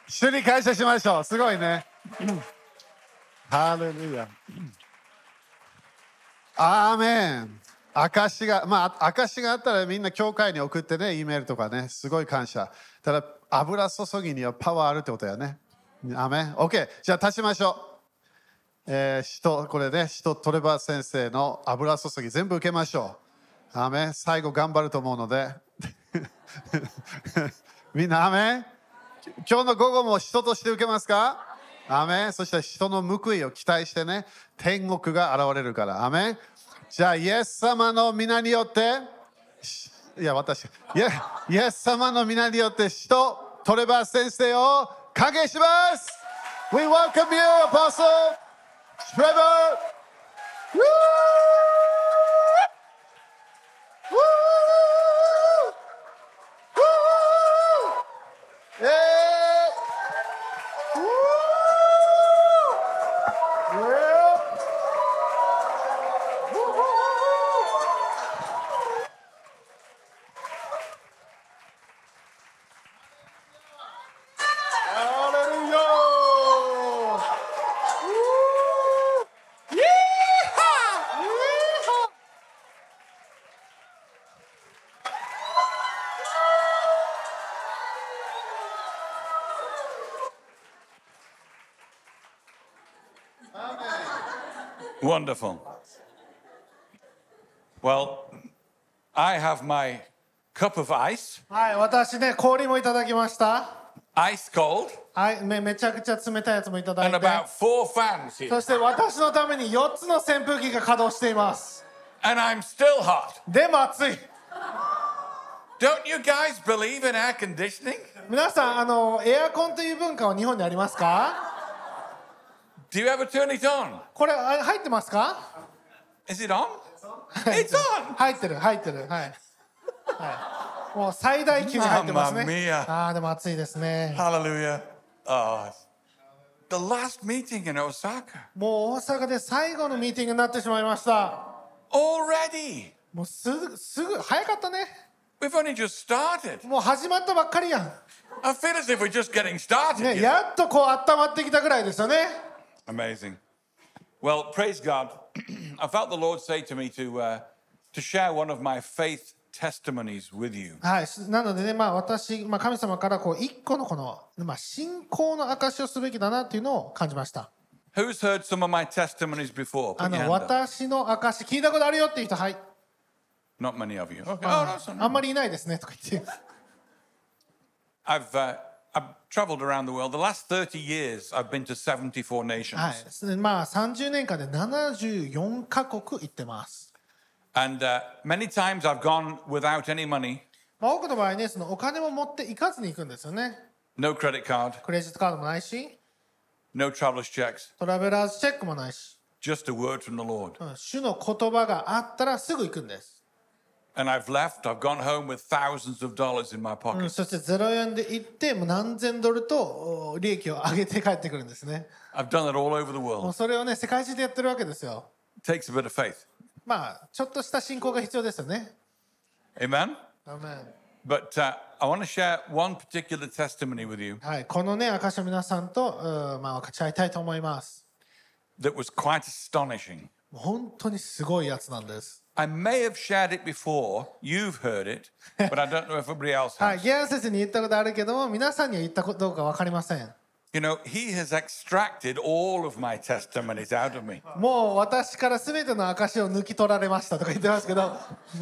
主に感謝しましょう。すごいね。ハレルヤ。アーメン。証があったらみんな教会に送ってね、Eメールとかね、すごい感謝。ただ、油注ぎにはパワーあるってことやね。アーメン。OK。じゃあ立ちましょう。これね、トレバー先生の油注ぎ全部受けましょう。アーメン。最後頑張ると思うので。みんなアーメン。今日の午後も人として受けますか？アーメン。そして人の報いを期待してね、天国が現れるから。アーメン。じゃあ、イエス様の皆によって、イエス様の皆によってトレバー先生を歓迎します。We welcome you, Apostle Trevor! Woo! Woo! Woo! Yeah! Woo! Yeah! Wonderful. Well, I have my cup of ice, はい、私ね、氷もいただきました。 ice cold, はい、めちゃくちゃ冷たいやつもいただい and て。 about 4 fans here. そして私のために4つの扇風機が稼働しています。 And I'm still hot. でも暑い。 Don't you guys believe in air conditioning? 皆さん、エアコンという文化は日本にありますか？ Do you ever turn it on? これ入ってますか？ Is it on? It's on! 入ってる。はい。はい。もう最大級に入ってますね。 Mamma mia. ああ、でも暑いですね。 Hallelujah. Oh, the last meeting in Osaka. もう大阪で最後のミーティングになってしまいました。 Already. もうすぐ早かったね。 We've only just started. もう始まったばっかりやん。 I feel as if we're just getting started. ね、 you know. やっとこう温まってきたぐらいですよね。 Amazing. Well, praise God. I felt the Lord say to me to share one of my faith testimonies with you. はい、なのでね、私、神様からこう一個のこの、信仰の証しをすべきだなっていうのを感じました。 Who's heard some of my testimonies before? Put your hand up. 私の証聞いたことあるよっていう人、はい。 Not many of you. Okay. あ that's んまりいないですねとか言って。 I've traveled around the world. The last 30 years, I've been to 74 nations. はい、30年間で74カ国行ってます。 And many times I've gone without any money, 多くの場合ね、そのお金も持って行かずに行くんですよね。 no credit card, クレジットカードもないし、 no traveler's checks, トラベラーズチェックもないし、 just a word from the Lord. 主の言葉があったらすぐ行くんです。 And I've gone home with thousands of dollars in my pocket. そして0円で行ってもう何千ドルと利益を上げて帰ってくるんですね。 I've done it all over the もう world. それをね、世界中でやってるわけですよ。 It takes a bit of faith. ちょっとした信仰が必要ですよね。 Amen? アーメン。 But I want to share one particular testimony with you はい、このね、証を皆さんと、分かち合いたいと思います。 that was quite astonishing. 本当にすごいやつなんです。 I may have shared it before, you've heard it, but I don't know if everybody else はい、 has. ギアン先生に言ったことあるけども、皆さんには言ったことどうか分かりません。 You know, he has extracted all of my testimonies out of me. もう私から全ての証を抜き取られましたとか言ってますけど。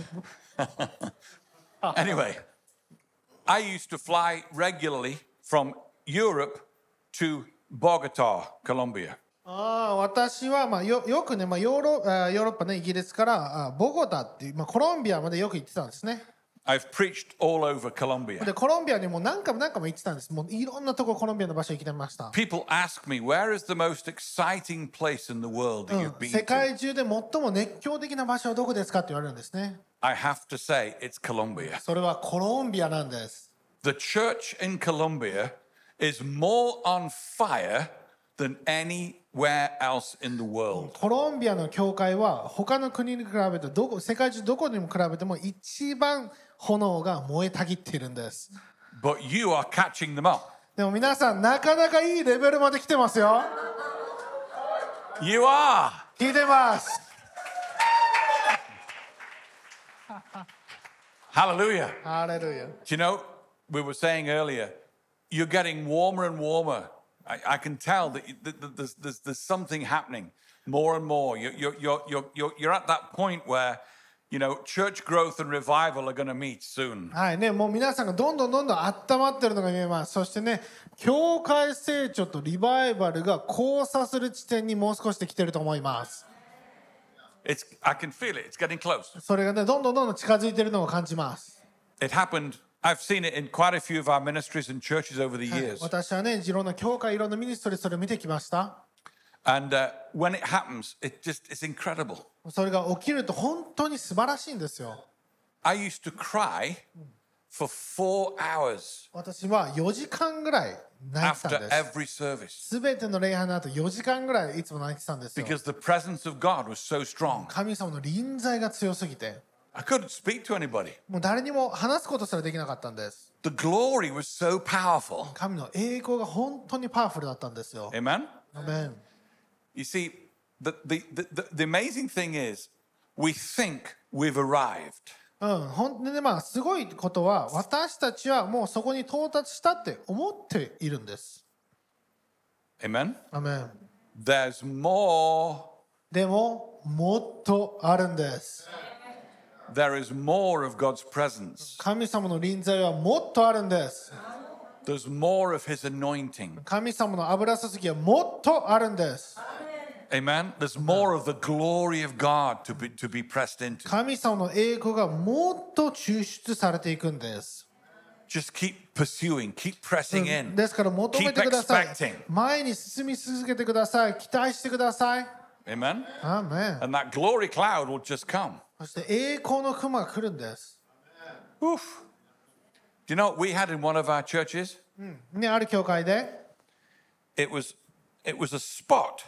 Anyway, I used to fly regularly from Europe to Bogota, Colombia. 私はよくね、ヨーロッパね、イギリスからボゴタっていう、コロンビアまでよく行ってたんですね。 I've preached all over Colombia. でコロンビアにも何回も行ってたんです。もういろんなとこコロンビアの場所行きてました。 People ask me, where is the most exciting place in the world that you've been 世 to? 界中で最も熱狂的な場所はどこですかって言われるんですね。 I have to say, it's Colombia. それはコロンビアなんです。 The church in Colombia is more on fire than anywhere else in the world. コロンビアの教会は他の国に比べて世界中どこにも比べても一番炎が燃えたぎっているんです。 But you are catching them up. でも皆さん、なかなかいいレベルまで来てますよ。 You are. 聞いてます。 Hallelujah. ハレルヤ。 Do you know, we were saying earlier, you're getting warmer and warmer. I can tell that there's something happening more and more. You're at that point where, you know, church growth and revival are going to meet soon. はいね、もう皆さんがどんどん温まってるのが見えます。そしてね、教会成長とリバイバルが交差する地点にもう少しで来てると思います。 I can feel it. It's getting close. それがね、どんどん近づいてるのを感じます。 It happened. I've seen it in quite a few of our ministries and churches over the はい、 years. 私はね、いろんな教会、いろんなミニストリー、それを見てきました。 And when it happens, it's incredible. それが起きると本当に素晴らしいんですよ。 I used to cry for 4 hours 私は4時間ぐらい泣いてた after んです。 every service すべての礼拝の後4時間ぐらいいつも泣いてたんですよ。 because the presence of God was so strong. 神様の臨在が強すぎて、 I couldn't speak to anybody. もう誰にも話すことすらできなかったんです。 The glory was so powerful. 神の栄光が本当にパワフルだったんですよ。 Amen? アメン。 You see, the amazing thing is, we think we've arrived. 本当にね、まあすごいことは、私たちはもうそこに到達したって思っているんです。 Amen? アメン。 There's more. でももっとあるんです。 There is more of God's presence. 神様の臨在はもっとあるんです。 There's more of His anointing. 神様の油注ぎはもっとあるんです。 Amen? There's more of the glory of God to be pressed into. 神様の栄光がもっと抽出されていくんです。 Just keep pursuing, keep pressing in. ですから求め Keep てください。 expecting. 前に進み続けてください。期待してください。 Amen? アーメン。 And that glory cloud will just come. そして栄光の雲が来るんです。 Oof. Do you know what we had in one of our churches? ね、ある教会で、 It was a spot.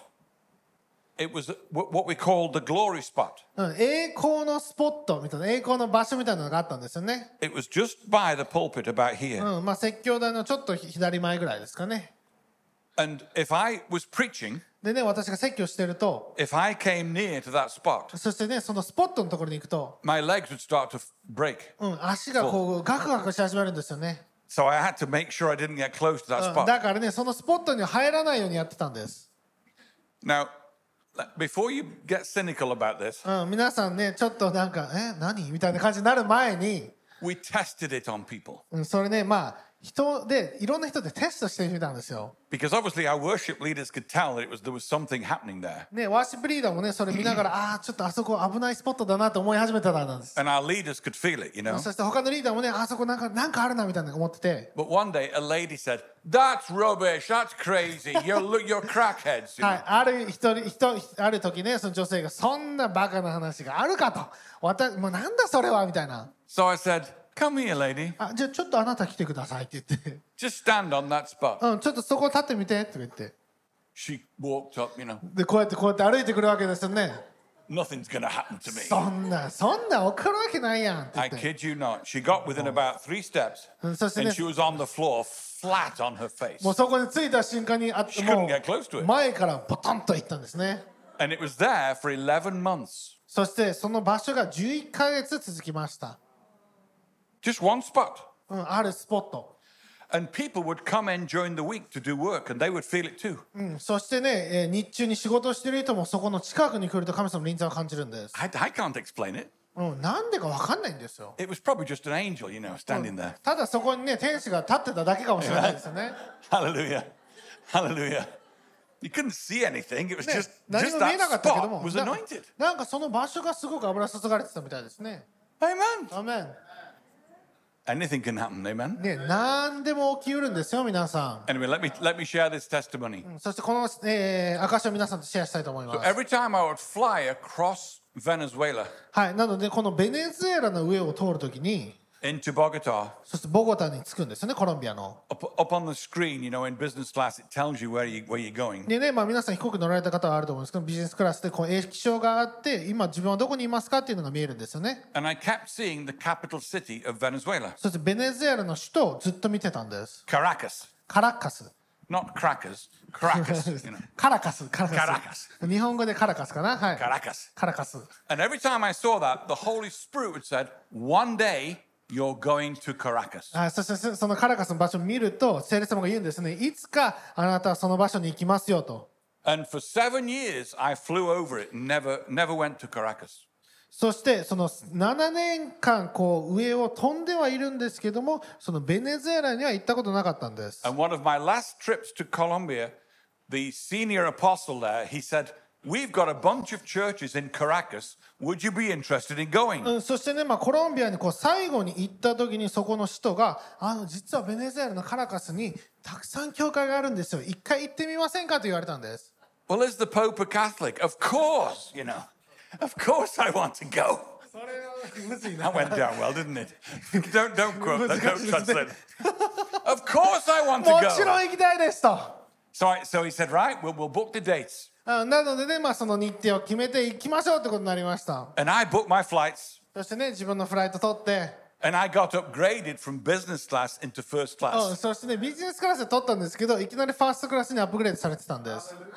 It was what we called the glory spot. 栄光のスポットみたいな、栄光の場所みたいなのがあったんですよね。 It was just by the pulpit about here. まあ説教台のちょっと左前ぐらいですかね。 And if I was preaching, でね、私が説教してると、 if I came near to that spot, そしてね、そのスポットのところに行くと、 my legs would start to break. 足がこうガクガクし始めるんですよね。 So I had to make sure I didn't get close to that だ spot. からね、そのスポットに入らないようにやってたんです。 Now, before you get cynical about this, 皆さんね、ちょっとなんか、何みたいな感じになる前に、 we tested it on people. それね、まあ、人で、いろんな人でテストしてみたんですよ。 Because obviously our worship leaders could tell that there was something happening there. ね、ワーシップリーダーもね、それ見ながら、ちょっとあそこ危ないスポットだなと思い始めたらなんです。 And our leaders could feel it, you know. そして他のリーダーもね、あそこなんかあるなみたいな思ってて、 But one day a lady said, "That's rubbish. That's crazy. You're crackheads." You は know? い、ある時ね、その女性が、そんなバカな話があるかと。もうなんだそれはみたいな。 So I said, "Come here, lady. じゃあちょっとあなた来てくださいって言って、 Just stand on that spot." ちょっとそこ立ってみてって言って、 She walked up, you know. で、こうやって歩いてくるわけですよね。 Nothing's going to happen to me. そんな起こるわけないやんって言 I って。 kid you not. She got within about 3 steps そしてね and she was on the floor flat on her face. もうそこに着いた瞬間に She couldn't get close to もう it. 前からポトンと行ったんですね。 And it was there for 11 months. そしてその場所が11ヶ月続きました。 Just one spot. あるスポット。 And people would come in during the week to do work and they would feel it too. そしてね、日中に仕事をしている人もそこの近くに来ると神様の臨在を感じるんです。 I can't explain it. なんでか分かんないんですよ。 It was probably just an angel, you know, standing there. ただそこにね、天使が立ってただけかもしれないですよね。 Hallelujah. Hallelujah. You couldn't see anything. It was ね just 何も見えなか that ったけど spot も、 was anointed. なんかその場所がすごく油注がれてたみたいですね。 Amen. アメン。 Anything can happen. Amen. ね、何でも起きうるんですよ、皆さ Anyway, let me share this testimony. ん。そしてこの、証を皆さんとシェアしたいと思います。 Every time I would fly across Venezuela はい、なのでこのベネズエラの上を通るときに、 into Bogota, そしてボゴタに着くんですよね、コロンビアの。 up on the screen, you know, in business class, it tells you where you're going. でね、まあ皆さん飛行機乗られた方はあると思うんですけど、ビジネスクラスでこう液晶があって、今自分はどこにいますかっていうのが見えるんですよね。 And I kept seeing the capital city of Venezuela, そしてベネズエラの首都をずっと見てたんです。 Caracas. カラカス not crackers, Caracas, you know, カラカスカラカス Caracas, 日本語でカラカスかなはい Caracas. カラカス And every time I saw that, the Holy Spirit would said, "One day you're going to Caracas." そしてそのカラカスの場所を見ると聖霊様が言うんですねいつかあなたはその場所に行きますよと And for 7 years, I flew over it and never went to Caracas. そしてその7年間こう上を飛んではいるんですけどもそのベネズエラには行ったことなかったんです And one of my last trips to Colombia, the senior apostle there, he said, "We've got a bunch of churches in Caracas. Would you be interested in going?" そしてね、コロンビアにこう最後に行った時にそこの首都が実はベネズエラのカラカスにたくさん教会があるんですよ一回行ってみませんかと言われたんです Well, is the Pope a Catholic? Of course, you know. Of course I want to go. それはむずい That な went down well, didn't it? Don't quote that, don't translate it. Of course I want to もちろ go. ん行きたいですと So he said, right, we'll book the dates. なのでね、その日程を決めて行きましょうってことになりました And I booked my flights そしてね自分のフライト取って and I got upgraded from business class into first class. そしてねビジネスクラスで取ったんですけどいきなりファーストクラスにアップグレードされてたんです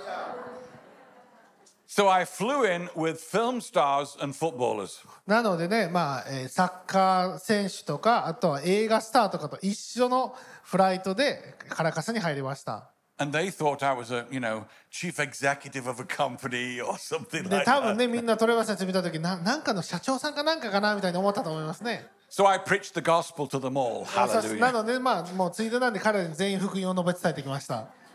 So I flew in with film stars and footballers. なのでね、サッカー選手とかあとは映画スターとかと一緒のフライトでカラカスに入りました And they thought I was a, chief executive of a company or something で like 多分 that. ねみんなトレバー選手見た時なんかの社長さんかなんかかなみたいに思ったと思いますね So I preached the gospel to them all. そしてな Hallelujah. のでもうついでなんで彼らに全員福音を述べ伝えてきました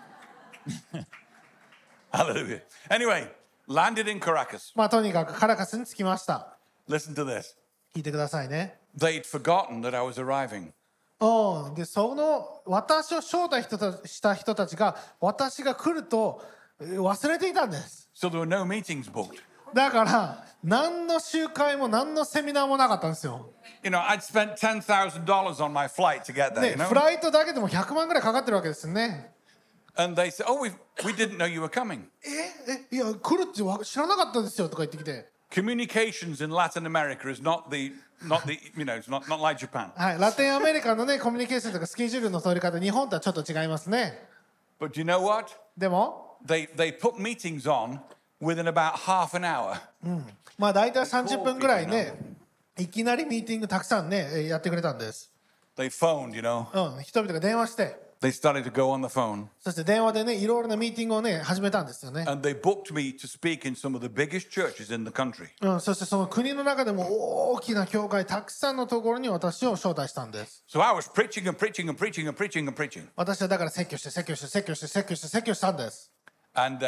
Hallelujah. Anyway, landed in Caracas. とにかくカラカスに着きました Listen to this. 聞いてくださいね They'd forgotten that I was arriving. でその私を招待した人たちが私が来ると忘れていたんです So there were no meetings booked. だから何の集会も何のセミナーもなかったんですよ I'd spent $10,000 on my flight to get there, ね you know? フライトだけでも100万ぐらいかかってるわけですよね And they said, "Oh, we didn't know you were coming." いや来るって知らなかったですよとか言ってきて Communications in Latin America is not the it's not like Japan. はい、ラテンアメリカのねコミュニケーションとかスケジュールの取り方日本とはちょっと違いますね But you know what? でも They put meetings on within about half an hour. 大体30分ぐらいねいきなりミーティングたくさんねやってくれたんです They phoned, 人々が電話して They started to go on the phone そして電話でねいろいろなミーティングをね始めたんですよね and they booked me to speak in some of the biggest churches in the country. そしてその国の中でも大きな教会たくさんのところに私を招待したんです So I was preaching and preaching and preaching and preaching and preaching. 私はだから説教して説教して説教して説教して説教したんです And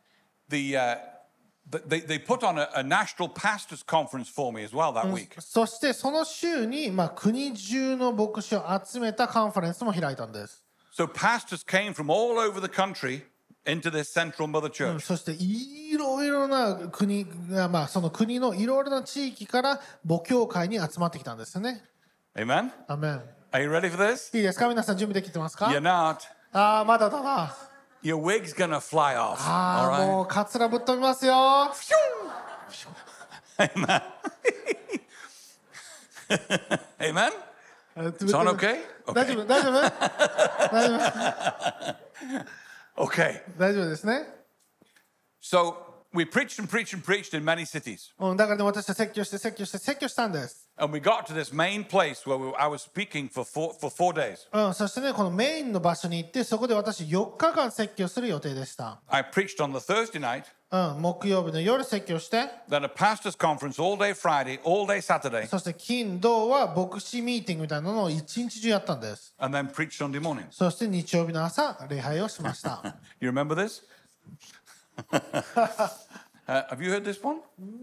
they put on a national pastors conference for me as well that week. そしてその週に国中の牧師を集めたカンファレンスも開いたんです So pastors came from all over the country into this central mother church. そしていろいろな国がその国のいろいろな地域から母教会に集まってきたんですよね Amen? アメン Are you ready for this? いいですか皆さん準備できてますか You're not. まだだな Your wig's gonna fly off. All right? もうカツラぶっ飛びますよ Amen. Amen? Sound okay? 大丈 Okay. 夫大丈夫大丈 Okay. 夫大丈夫ですね So we preached and preached and preached in many cities. だからね私は説教して説教して説教したんです And we got to this main place where I was speaking for 4 days. そしてねこのメインの場所に行ってそこで私4日間説教する予定でした I preached on the Thursday night, 木曜日の夜説教して then a pastor's conference all day Friday, all day Saturday, そして金土は牧師ミーティングみたいなのを一日中やったんです and then preached Sunday morning. そして日曜日の朝礼拝をしました You remember this? Have you heard this one?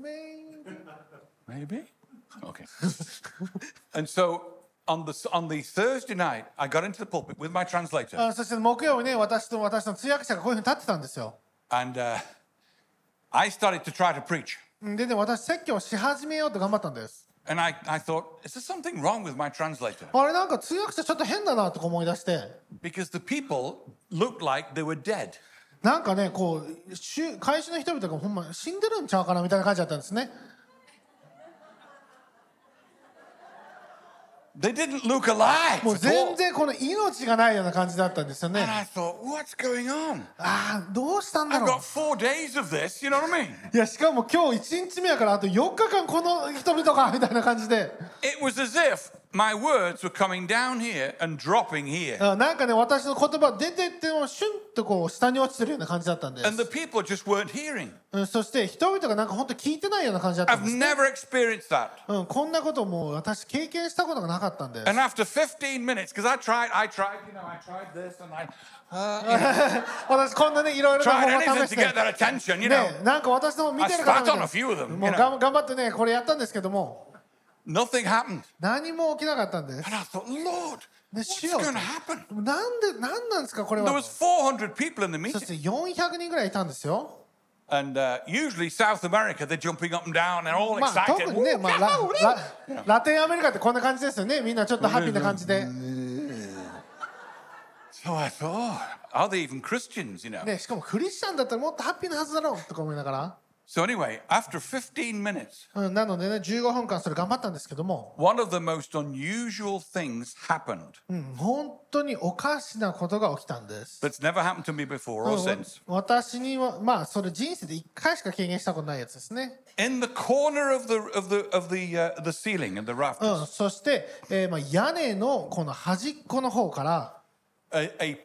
Maybe. Okay. And so on the Thursday night, I got into the pulpit with my translator, そして木曜日ね私と私の通訳者がこういうふうに立ってたんですよ and I started to try to preach. でね私説教をし始めようと頑張ったんです And I thought, is there something wrong with my translator? あれなんか通訳者ちょっと変だなとか思い出して Because the people looked like they were dead. なんかねこう会社の人々がほんま死んでるんちゃうかなみたいな感じだったんですね They didn't look alive もう at 全 all. 然この命がないような感じだったんですよ And ね。 I thought, what's going on? ああ、どうしたんだ I've ろう。 got 4 days of this, you know what I mean? いや、しかも今日1日目やからあと4日間この人々かみたいな感じで、 It was as if my words were coming down here and dropping here. なんかね、私の言葉出てってもシュンとこう下に落ちてるような感じだったんで And す。 the people just weren't hearing. そして人々がなんか本当聞いてないような感じだったん I've ですね。 never experienced that. こんなこともう私経験したことがなかったんです。 And after 15 minutes, because I tried, I tried this and I 私こんなねいろいろな tried 方法 anything を試し to て get their attention, you know. ね、なんか私の見 I てる方 spat みたい on な a few of them, も you う know. 頑張ってねこれやったんですけども Nothing happened. 何も起きなかったんです And I thought, Lord, で what's 主よ going to happen? 何なんですかこれ There は was 400 people in the そし meeting. て400人ぐらいいたんですよ And usually South America, they're jumping up and down and all まあ excited. 特にね、まあ、ラテンアメリカってこんな感じですよねみんなちょっとハッピーな感じで、 So I thought, are they even Christians, you know? ね、しかもクリスチャンだったらもっとハッピーなはずだろうとか思いながら、 So anyway, after 15 minutes, なのでね15分間それ頑張ったんですけども、 one of the most unusual things happened 本当におかしなことが起きたんです。 that's never happened to me before or since. 私にはまあそれ人生で1回しか経験したことないやつですね。 In the corner of the ceiling and the rafters, そして、まあ、屋根のこの端っこの方から、 a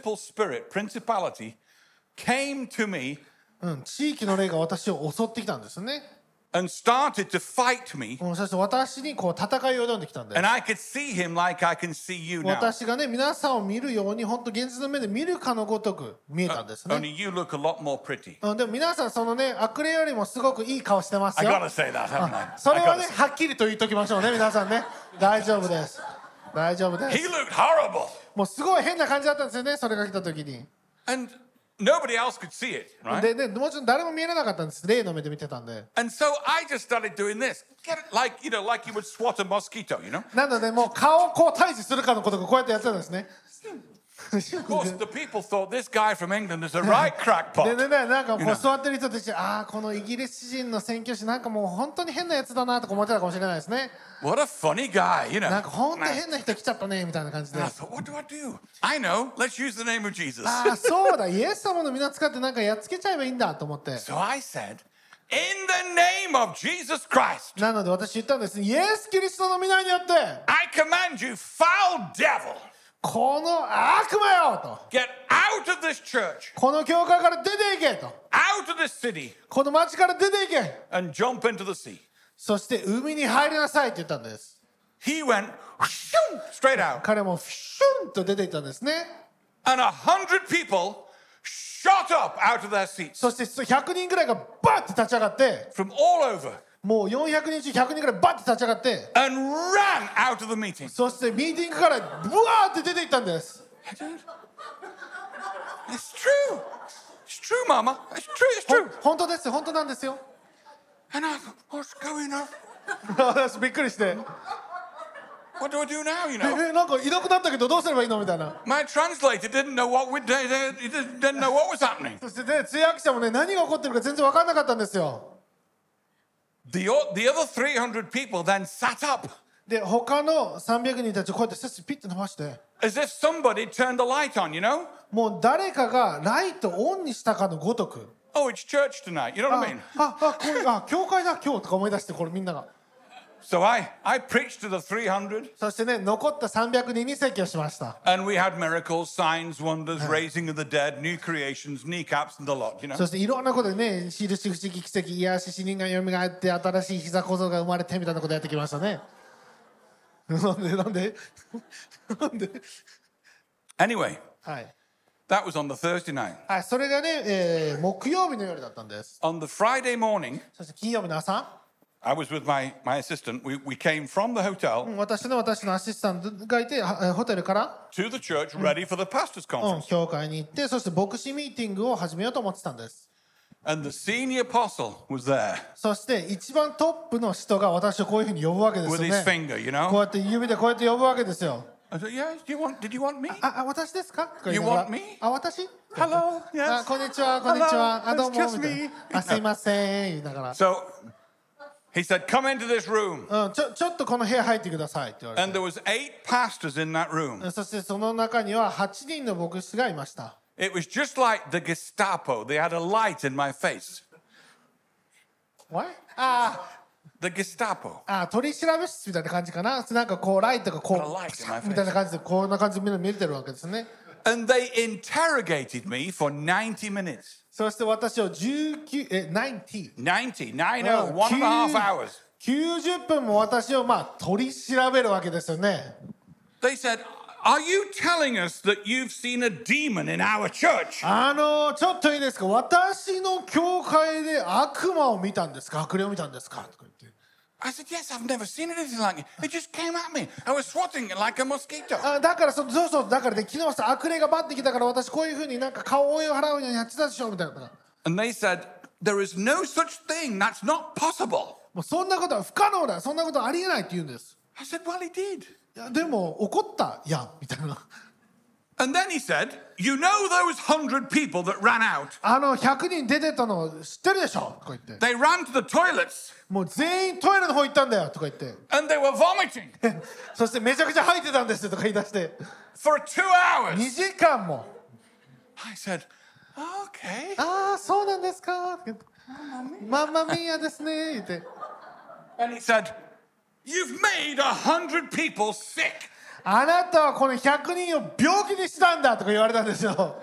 principality came to me 地域の霊が私を襲ってきたんですね。 and started to fight me. そして私にこう戦いを挑んできたんです。 And I could see him like I can see you now. 私がね皆さんを見るように本当現実の目で見るかのごとく見えたんですね。 Only you look a lot more pretty. でも皆さんそのね悪霊よりもすごくいい顔してます I よ。 gotta say that, haven't I? それ I は gotta ね say- はっきりと言っときましょうね皆さんね。大丈夫です。大丈夫で He す。 looked horrible. もうすごい変な感じだったんですよねそれが来た時に。 And nobody else could see it, right? でもちろん誰も見えなかったんです。霊の目で見てたんで。 And so I just started doing this. Get it like, you know, like you would swat a mosquito, you know? なのでもう顔をこう退治するかのことがこうやってやってたんですね。 Of course, the people thought this guy from England is a right で crackpot. ねなんかこう座ってる人たちこのイギリス人の宣教師なんかもう本当に変なやつだなとか思ってたかもしれないですね。 What a funny guy, you know? なんか本当に変な人来ちゃったねみたいな感じで。 And I thought, what do I do? I know. Let's use the name of Jesus. そうだイエス様の皆使ってなんかやっつけちゃえばいいんだと思って。 So I said, in the name of Jesus Christ, なので私言ったんです。イエス・キリストの皆によって I command you, foul devil, この悪魔よと get out of this church, この教会から出ていけと out of this city, この町から出ていけ and jump into the sea. そして海に入りなさいって言ったんです。 He went whoosh, straight out, 彼もフシュンと出ていったんですね。 and 100 people shot up out of their seats そして100人ぐらいがバッて立ち上がって from all over もう400人中100人ぐらいバッて立ち上がって and ran out of the meeting. そしてミーティングからブワーって出ていったんです。 It's true. It's true, Mama. It's true. It's true. 本当です本当なんですよ。 And I thought, what's going on? 私びっくりして、 What do I do now? You know, なんかいなくなったけどどうすればいいのみたいな。 my translator didn't know what he didn't know what was happening. そしてね通訳者もね何が起こってるか全然分かんなかったんですよ。 The other 300 people then sat up で他の300人たちをこうやって背筋ピッと伸ばして as if somebody turned the light on. You know, もう誰かがライトをオンにしたかのごとく oh, it's church tonight. You know what I mean? 教会だ今日とか思い出してこれみんなが So I preached to the 300, そしてね残った300人に説教しました。 and we had miracles, signs, wonders, raising of the dead, new creations, kneecaps, and the lot. You know. そしていろんなことでね印不思議奇跡癒し死人がよみがえって新しい膝小僧が生まれてみたいなことやってきましたね。なんで Anyway, はい、 that was on the Thursday night. はい、それがね、木曜日の夜だったんです。 On the Friday morning, そして金曜日の朝 I was with my assistant. We came from the hotel 私のアシスタントがいてホテルから、 to the church ready for the pastors' conference. 教会に行ってそして牧師ミーティングを始めようと思ってたんです。 And the senior apostle was there そして一番トップの人が私をこういうふうに呼ぶわけです with よ his ね。 finger, you こう know. やって指でこうやって呼ぶわけですよ。 I said, "Yeah, did you want me? 私ですか？ You want me? 私？ Hello, yes. こんにちはこんにちは。 Hello, どうも it's just みたい me. な。すいません言いながら。 So He said, come into this room. ちょっとこの部屋入ってくださいって言われ And there was 8 pastors in that room. て、そしてその中には8人の牧師がいました。 It was just like the Gestapo. They had a light in my face. What? The Gestapo. 取り調べ室みたいな感じかな。なんかこうライトがこ Got a light in my うみたいな感じでこんな感じでみんな見えてるわけですね。 And they interrogated me for 90 minutes. そして私を90 90, 90, 1.5 hours. 90分も私を取り調べるわけですよね。 They said, are you telling us that you've seen a demon in our church? ちょっといいですか、私の教会で悪魔を見たんですか、悪霊を見たんですかとか言って。 I said, yes, I've never seen anything like it. It just came at me. I was swatting it like a mosquito. だからそうだからで昨日さ悪霊がバッてきたから私こういうふうになんか顔を覆いを払うようにやってたでしょみたいな。 And they said, there is no such thing. That's not possible. もうそんなことは不可能だ、そんなことはありえないって言うんです。 I said, well, he did. いやでも怒ったやんみたいな。 And then he said, you know those 100 people that ran out? 100人出てたの知ってるでしょとか言って。 They ran to the toilets もう全員トイレの方行ったんだよとか言って。 and they were vomiting そしてめちゃくちゃ吐いてたんですとか言い出して。 for 2 hours. 2時間も。 I said, okay. そうなんですかって言って。マンマミーヤですね言って。 And he said, you've made 100 people sick. あなたはこの100人を病気にしたんだとか言われたんですよ。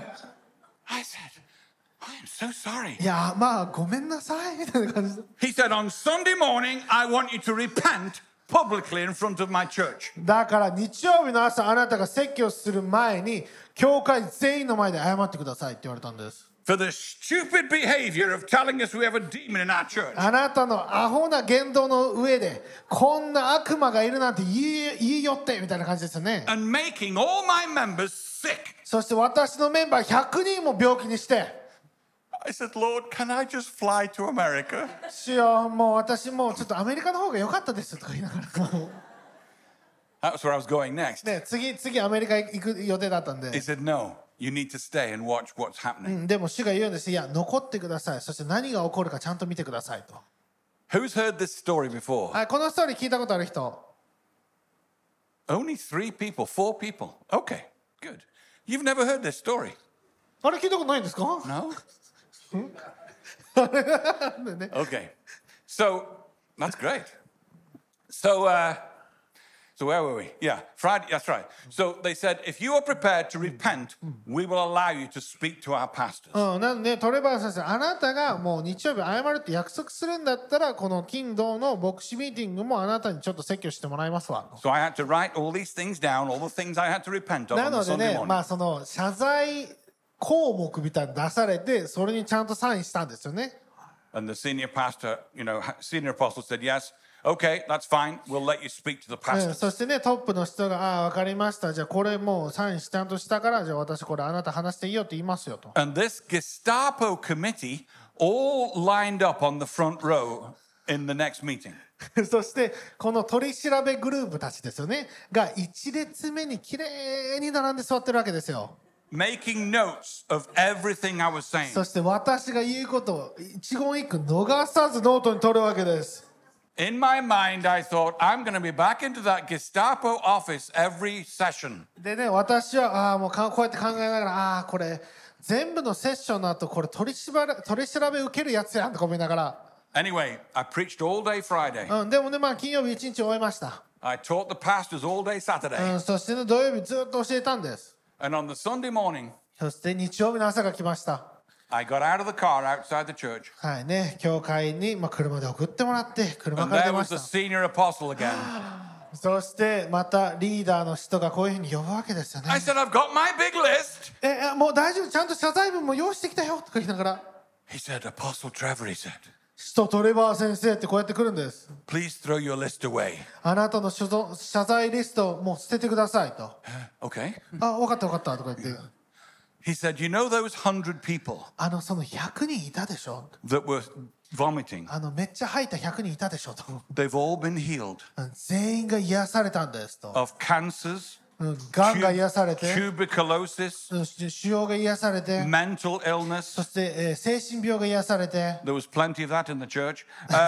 I said, I am so sorry. いやごめんなさいみたいな感じで。 He said, on Sunday morning, I want you to repent publicly in front of my church. だから日曜日の朝あなたが説教する前に教会全員の前で謝ってくださいって言われたんです。 For the stupid behavior of telling us we have a demon in our church. あなたのアホな言動の上でこんな悪魔がいるなんて言いよってみたいな感じですよね。 And making all my members sick. そして私のメンバー100人も病気にして、 I said, Lord, can I just fly to America? 主よもう私もうちょっとアメリカの方が良かったですとか言いながら。 That's where I was going next. ね、次アメリカ行く予定だったん He で、 said, no, you need to stay and watch what's happening. でも主が言うんです。いや残ってください、そして何が起こるかちゃんと見てくださいと。 Who's heard this story before? はい、このストーリー聞いたことある人。 Only 3 people, 4 people. Okay, good. You've never heard this story? あれ聞いたことないんですか？ No? ね Okay. So, that's great. So where were we? Yeah, Friday, that's right. So they said, if you are prepared to repent, we will allow you to speak to our pastors. なんでトレバー先生、あなたがもう日曜日謝るって約束するんだったらこの金土の牧師ミーティングもあなたにちょっと説教してもらいますわ。 So I had to write all these things down, all the things I had to repent of な on の the で Sunday ね、 morning. その謝罪項目みたいに出されてそれにちゃんとサインしたんですよね。 And the senior pastor, senior apostle said, yes, okay, that's fine. We'll let you speak to the そ pastors. してねトップの人が分かりました、じゃあこれもうサインちゃんとしたからじゃあ私これあなた話していいよって言いますよと。 And this Gestapo committee all lined up on the front row in the next meeting. そしてこの取り調べグループたちですよねが1列目にきれいに並んで座ってるわけですよ。 Making notes of everything I was saying. そして私が言うことを一言一句逃さずノートに取るわけです。 In my mind, I thought, I'm going to be back into that Gestapo office every session. でね私はもうこうやって考えながらこれ全部のセッションの後これ取り調べ受けるやつやんとか思いながら、 Anyway, I preached all day Friday. でもね金曜日一日終えました。 I taught the pastors all day Saturday. そしてね土曜日ずっと教えたんです。 And on the Sunday morning, そして日曜日の朝が来ました。 I got out of the car outside the church. はいね、教会に、車で送ってもらって車 And から出 there ま was し the senior apostle again. た。そしてまたリーダーの人がこういうふうに呼ぶわけですよね。 I said, I've got my big list. もう大丈夫、ちゃんと謝罪文も用意してきたよとか言いながら、 He said, Apostle Trevor, he said, 使徒トレバー先生ってこうやって来るんです。 please throw your list away. あなたの謝罪リストをもう捨ててくださいと。 Okay. 分かった分かったとか言って、 He said, you know those 100 people その100人いたでしょ、 that were vomiting? めっちゃ吐いた100人いたでしょと。 They've all been healed 全員が癒されたんですと。 of cancers, がんが癒されて、 tuberculosis, そして腫瘍が癒されて、 mental そ illness. して、精神病が癒されて、 There was plenty of that in the church.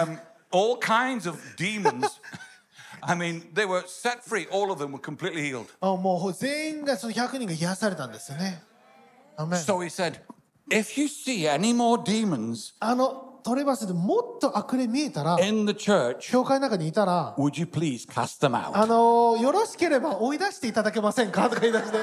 all kinds of demons. I mean, they were set free. All of them were completely healed. もう全員がその100人が癒されたんですよね。アメン。 So he said, if you see any more demons トレバスでもっと悪霊見えたら、 in the church, 教会の中にいたら、 would you please cast them out? よろしければ追い出していただけませんかとか言い出して。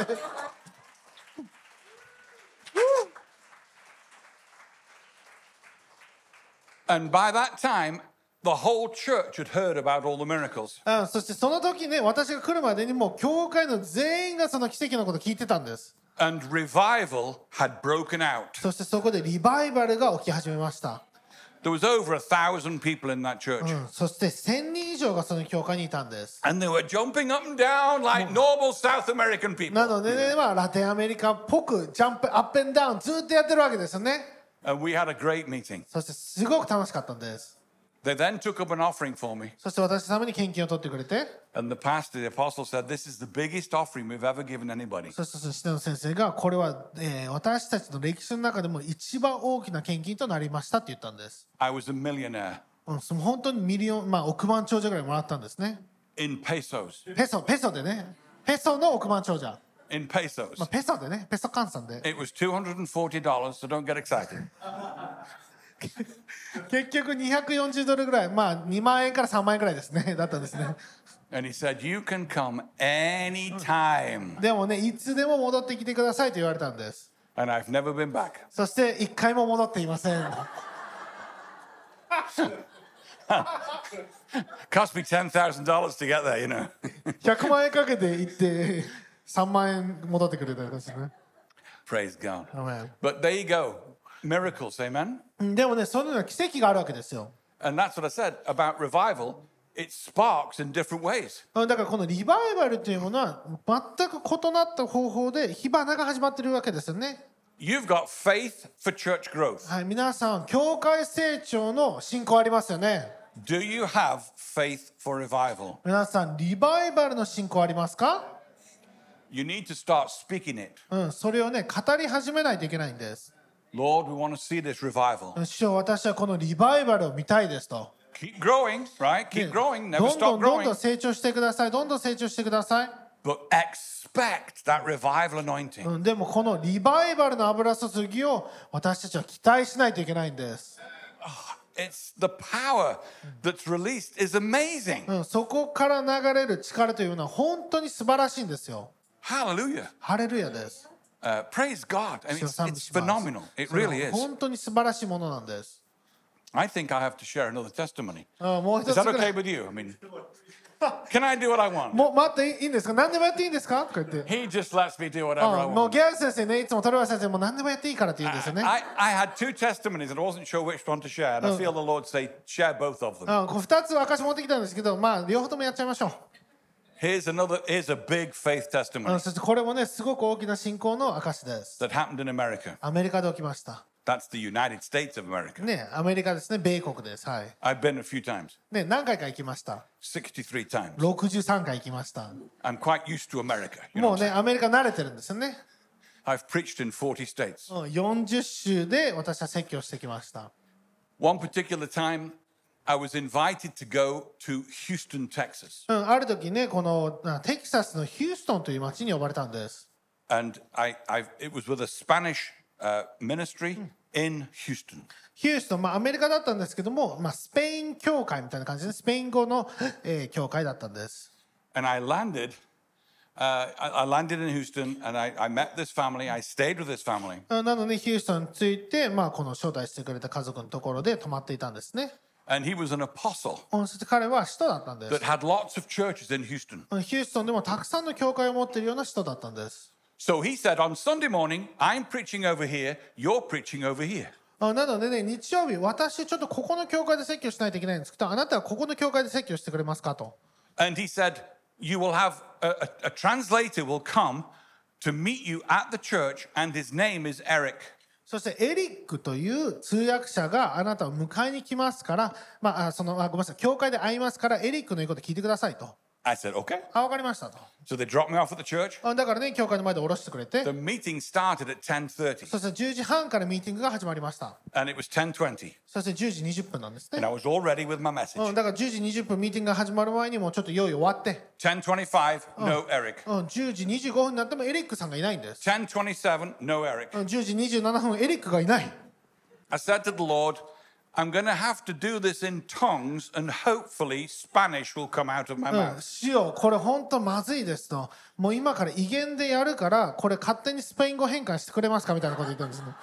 And by that time, the whole church had heard about all the miracles. そしてその時ね、私が来るまでにもう教会の全員がその奇跡のことを聞いてたんです。 And revival had broken out. そしてそこでリバイバルが起き始めました。 There was over 1,000 people in that church. そして1000人以上がその教会にいたんです。 And they were jumping up and down like normal South American people. なのでね、ラテンアメリカっぽくジャンプアップンダウンずっとやってるわけですよね。 And we had a great meeting. そしてすごく楽しかったんです。 They then took up an offering for me. そして私のために献金を取ってくれて、 And the pastor, the apostle, said, This is the biggest offering we've ever given anybody. そしてその下の先生がこれは、私たちの歴史の中でも一番大きな献金となりましたって言ったんです。 I was a millionaire その本当にミリオン、億万長者ぐらいもらったんですね。 in pesos. ペソでね、ペソの億万長者。 In pesos. ペソでね、ペソ換算で。 It was $240, so don't get excited. 結局240ドルぐらい、2万円から3万円ぐらいですね、だったんですね。 And he said, You can come anytime. でもね、いつでも戻ってきてくださいと言われたんです。 And I've never been back. そして一回も戻っていません。 Cost me $10,000 to get there, you know. 100万円かけて行って3万円戻ってくれたんですね。 Praise God. Amen. But there you go. Miracles, amen? でもね、そのような奇跡があるわけですよ。 And that's what I said about revival. It sparks in different ways. だからこのリバイバルというものは全く異なった方法で火花が始まっているわけですよね。 You've got faith for church growth. はい、皆さん、教会成長の信仰ありますよね。 Do you have faith for revival? 皆さん、リバイバルの信仰ありますか？ You need to start speaking it. それをね、語り始めないといけないんです。 Lord, we want to see this revival. 主よ、私はこのリバイバルを見たいですと。 Keep growing, right? Keep growing. ど Never んど stop んどんど growing. ん成長してください。どんどん成長してください。 But expect that revival anointing. でもこのリバイバルの油注ぎを私たちは期待しないといけないんです。 It's the power that's released is amazing. そこから流れる力というのは本当に素晴らしいんですよ。 Hallelujah. ハレルヤです。 Praise God. I mean, 主を賛美 it's します phenomenal. It それは really is. 本当に素晴らしいものなんです。 I think I have to share another testimony. もう一 Is つ that ぐら okay い。 with you? I mean, can I do what I want? もう待っていいんですか？何でもやっていいんですか？とか言って。 He just lets me do whatever I もう want. ギャル先生ね、いつもトレバ先生もう何でもやっていいからって言うんですよね。 I had two testimonies and I wasn't sure which one to share. And I feel the Lord say, share both of them. 2つ証持ってきたんですけど、両方ともやっちゃいましょう。 Here's a big faith testimony そしてこれもね、すごく大きな信仰の証です。 that happened in America. アメリカで起きました。 That's the United States of America. ね、アメリカですね、米国です。はい。 I've been a few times, ね、何回か行きました。 63 times. 63回行きました。 I'm quite used to America. You も know, うね、アメリカ慣れてるんですよね。 I've preached in 40 states. 40州で私は説教してきました。 One particular time, I was invited to go to Houston, Texas. ある時ね、このテキサスのヒューストンという町に呼ばれたんです。 And it was with a Spanish ministry in Houston. ヒューストン、アメリカだったんですけども、スペイン教会みたいな感じで、スペイン語の、教会だったんです。 And I landed in Houston and I met this family. I stayed with this family. なので、ヒューストンについて、この招待してくれた家族のところで泊まっていたんですね。 And he was an apostle そして彼は使徒だったんです。 that had lots of churches in Houston. ヒューストンでもたくさんの教会を持っているような使徒だったんです。 So he said, on Sunday morning, I'm preaching over here, you're preaching over here. なのでね、日曜日、私ちょっとここの教会で説教しないといけないんですけど、あなたはここの教会で説教してくれますかと。 And he said, you will have a translator will come to meet you at the church, and his name is Eric. そしてエリックという通訳者があなたを迎えに来ますから、ごめんなさい、教会で会いますから、エリックの言うこと聞いてくださいと。 I said, okay. わかりましたと。 So they dropped me off at the church. だからね、教会の前で降ろしてくれて、 The meeting started at 10:30, そして10時半からミーティングが始まりました。 and it was 10:20, そして10時20分なんです and ね。 I was all ready with my message. だから10時20分ミーティングが始まる前にもうちょっと用意終わって、 10:25, no Eric. 10時25分になってもエリックさんがいないんです。 10:27, no Eric. 10時27分エリックがいない。 I said to the Lord, I'm going to have to do this in tongues, and hopefully Spanish will come out of my mouth. 主よ、これ本当まずいですと。もう今から威厳でやるから、これ勝手にスペイン語変換してくれますかみたいなこと言ったんですね。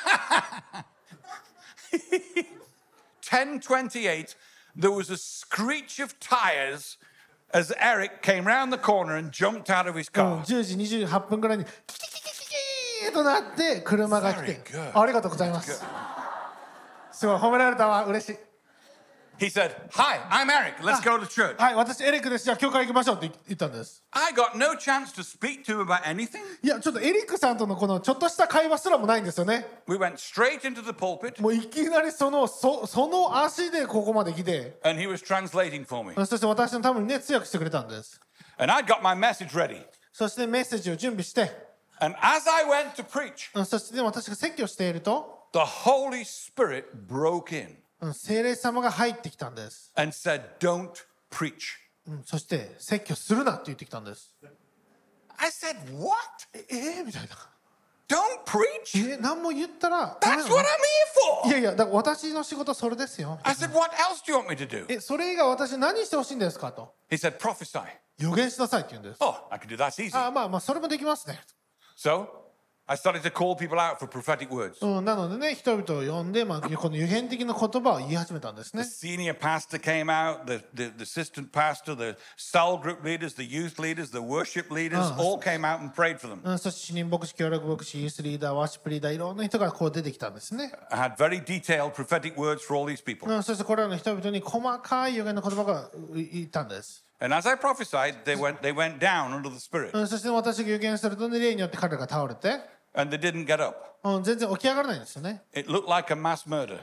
10:28, there was a screech of tires as Eric came round the corner and jumped out of his car. 10時28分ぐらいにキキキキキキーとなって車が来て Very good. ありがとうございますすごい褒められたわ嬉しい He said, Hi, I'm Eric. Let's go to church. はい私エリックですじゃあ教会行きましょうって言ったんです I got no chance to speak to him about anything. いやちょっとエリックさんとのこのちょっとした会話すらもないんですよね We went straight into the pulpit, もういきなりその足でここまで来て and he was translating for me. そして私のためにね通訳してくれたんです And I got my message ready. そしてメッセージを準備して And as I went to preach, そして、ね、私が説教していると the Holy Spirit broke in 聖霊様が入ってきたんです、 and said, Don't preach. そして説教するなって言ってきたんです I said, What? みたいな Don't preach? 何も言ったら That's what I'm here い for. やいやだから私の仕事はそれですよ I said, What else do you want me to do? それ以外私何してほしいんですかと He said, Prophesy. 予言しなさいって言うんです Oh, I can do that easy. まあそれもできますね So I started to call people out for prophetic words. なのでね人々を呼んで、この予言的な言葉を言い始めたんですね The senior pastor came out, the assistant pastor, the cell group leaders, the youth leaders, the worship leaders, all came out and prayed for them. そして主任牧師協力牧師ユースリーダーワーシップリーダーいろんな人がこう出てきたんですね I had very detailed prophetic words for all these people. そしてこれらの人々に細かい予言の言葉が言ったんです And as I prophesied, they went down under the Spirit. そして私が予言すると、ね、霊によって彼らが倒れて And they didn't get up. 全然起き上がらないんですよね It looked like a mass murder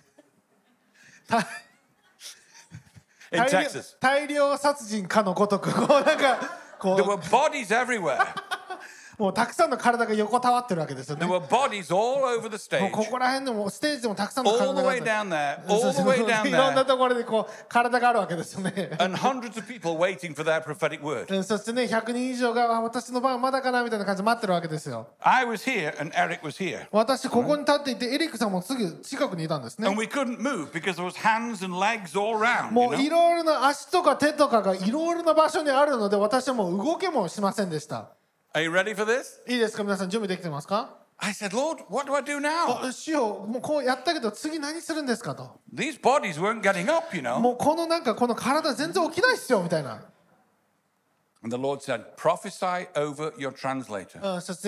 in Texas. 大量殺人かのごとくこうなんかこ There were う bodies everywhere. もうたくさんの体が横たわってるわけですよね There were bodies all over the もう stage. ここら辺でもステージでもたくさんの All 体 the が way down there, そう all そ the う way down いろんな there. ところでこう体があるわけですよね And hundreds of people waiting for their prophetic word. そしてね100人以上が私の番まだかなみたいな感じで待ってるわけですよ I was here and Eric was here. 私ここに立っていてエリックさんもすぐ近くにいたんですね And we couldn't move because there was hands and legs all around. も You うい know? ろいろな足とか手とかがいろいろな場所にあるので私はもう動けもしませんでした Are you ready for this? いいですか皆さん準備できてますか I said, Lord, what do I do now? 主よもうこうやったけど次何するんですかと These bodies weren't getting up, you know. もうこのなんかこの体全然起きないっすよみたいな And the Lord said, prophesy over your translator. そして、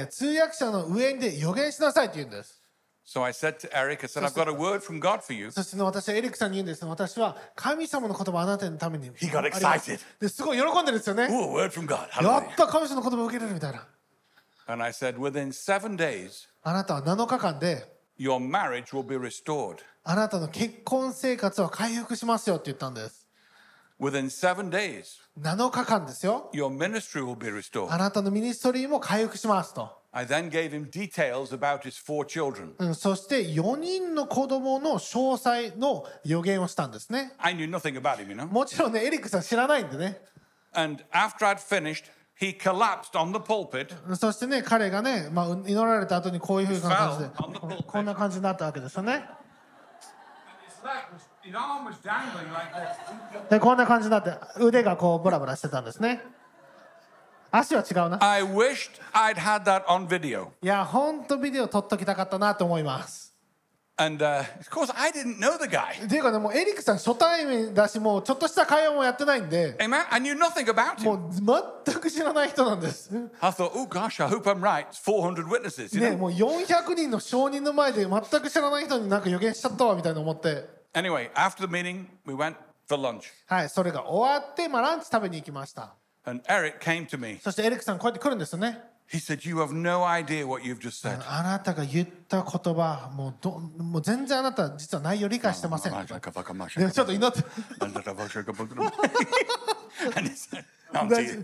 通訳者の上で予言しなさいって言うんです So I said to Eric, I said, I've got a word from God for you. そして、ね、私はエリックさんに言うんですね私は神様の言葉をあなたのために He got excited. ですごい喜んでるんですよね Ooh, a word from God. や Hallelujah. った神様の言葉を受けれるみたいな And I said, within 7 days, あなたは7日間で your marriage will be restored. あなたの結婚生活は回復しますよって言ったんです Within 7 days, 7日間ですよ your ministry will be restored. あなたのミニストリーも回復しますと I then gave him details about his 4 children. そして4人の子供の詳細の予言をしたんですね I knew nothing about him, you know. もちろんねエリックさん知らないんでね And after I'd finished, he collapsed on the pulpit. そしてね彼がね、祈られた後にこういうふうな感じで Fell on the pulpit. こんな感じになったわけですよね His arm was dangling like this. でこんな感じになって腕がこうブラブラしてたんですね足は違うな I wished I'd had that on video. いやほんとビデオ撮っときたかったなと思います And of course, I didn't know the guy. っていうかねもうエリックさん初対面だしもうちょっとした会話もやってないんで Amen. I knew nothing about も him. う全く知らない人なんです I thought, oh gosh, I hope I'm right. It's 400 witnesses, you ね know. もう400人の証人の前で全く知らない人になんか予言しちゃったわみたいな思って Anyway, after the meeting, we went for lunch. はいそれが終わってランチ食べに行きました And Eric came to me. そしてエリックさんこうやって来るんですよね He said, you have no idea what you've just said. あなたが言った言葉もう全然あなた実は内容理解してませんでもちょっと祈って And he said, oh, dear.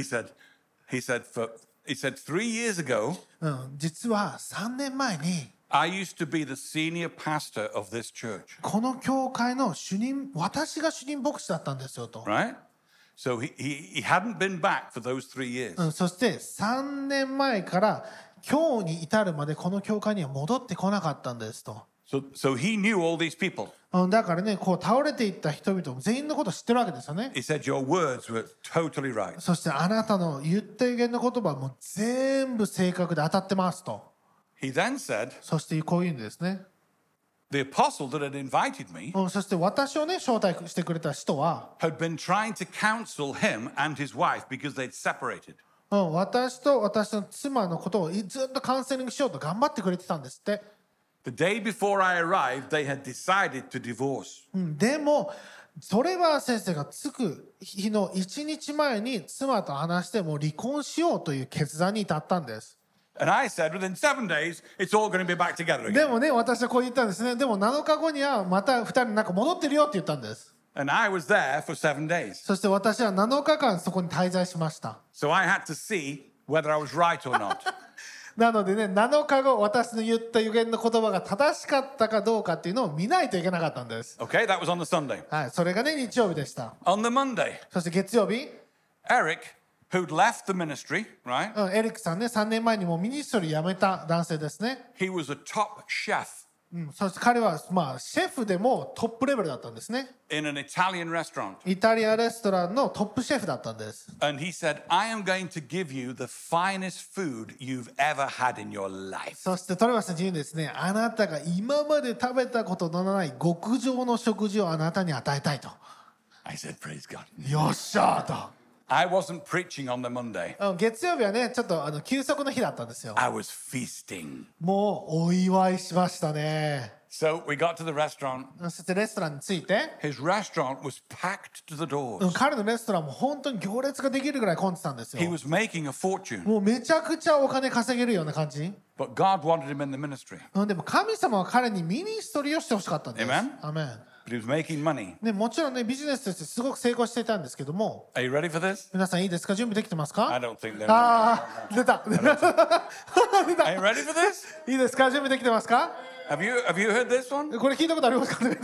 He said 3 years ago, 実は3年前に I used to be the senior pastor of this church. この教会の私が主任牧師だったんですよと。 Right? So he hadn't been back for those 3 years. そして3年前から今日に至るまでこの教会には戻ってこなかったんですと。 So he knew all these people. だからね、こう倒れていった人々も全員のことを知ってるわけですよね。 He said, your words were totally right. そしてあなたの言った予言の言葉はもう全部正確で当たってますと。 He then said, そしてこういうんですね。 the apostle that had invited me そして私をね招待してくれた人は、 had been trying to counsel him and his wife because they'd separated. 私と私の妻のことをずっとカウンセリングしようと頑張ってくれてたんですって。 The day before I arrived, they had decided to divorce. でもトレバー先生が着く日の1日前に妻と話してもう離婚しようという決断に至ったんです。 And I said, within 7 days, it's all going to be back together で again. もね、私はこう言ったんですね。でも7日後にはまた2人なんか戻ってるよって言ったんです。 And I was there for 7 days. そして私は7日間そこに滞在しました。 So I had to see whether I was right or not. なのでね、7日後私の言った予言の言葉が正しかったかどうかっていうのを見ないといけなかったんです。 Okay, that was on the Sunday. はい、それがね日曜日でした。 On the Monday, そして月曜日、 Eric, who'd left the ministry, right? エリックさんね、3年前にもうミニストリー辞めた男性ですね。 He was a top chef そして彼はまあシェフでもトップレベルだったんですね。 in an Italian restaurant. イタリアレストランのトップシェフだったんです。 And he said, I am going to give you the finest food you've ever had in your life. そしてトレバスさんに言うんですね。あなたが今まで食べたことのない極上の食事をあなたに与えたいと。 I said, praise God. よっしゃーと。 I wasn't preaching on the Monday. 月曜日はねちょっと休息の日だったんですよ。 I was feasting. もうお祝いしましたね。 So we got to the restaurant. そしてレストランに着いて、 His restaurant was packed to the doors. 彼のレストランも本当に行列ができるぐらい混んでたんですよ。 He was making a fortune. もうめちゃくちゃお金稼げるような感じ。 But God wanted him in the ministry. でも神様は彼にミニストリーをしてほしかったんです。 Amen? アメン。 But he was making money. ね、もちろんねビジネスとしてすごく成功していたんですけども、 Are you ready for this? 皆さんいいですか？準備できてますか？ I don't think they're. ああ、出た。出 Are た。 you ready for this? いいですか？準備できてますか？ Have you heard this one? これ聞いたことありますかね？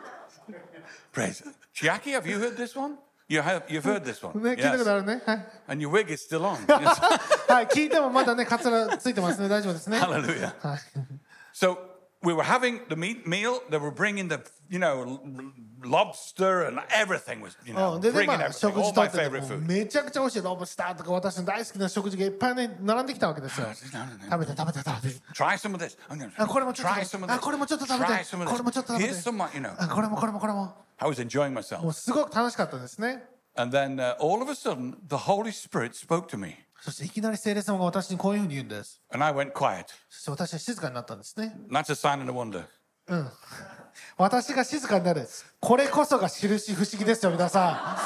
Praise. Jackie, have you heard this one? You've heard this one. ね、聞いたことあるね。はい。 And your wig is still on. はい、聞いてもまだね、カツラついてますね。大丈夫ですね。 Hallelujah. はい。 So we were having the meal. They were bringing the, lobster and everything was, でね、 bringing まあ、 everything. 食 All 事と my って favorite も food. めちゃくちゃ美味しいロブスターとか私の大好きな食事がいっぱいね並んできたわけですよ。食べて。 Try some of this. I'm gonna あ、これもちょっと try some of this. あ、これもちょっと食べて Try some of これもちょっと食べて Here's some, あ、これも。 I was enjoying も myself. うすごく楽しかったですね。 And then all of a sudden, the Holy Spirit spoke to me. そしていきなり聖霊様が私にこういうふうに言うんです。 And I went quiet. そして私は静かになったんですね。 And that's a sign and a wonder. 私が静かになる。これこそが印不思議ですよ、皆さ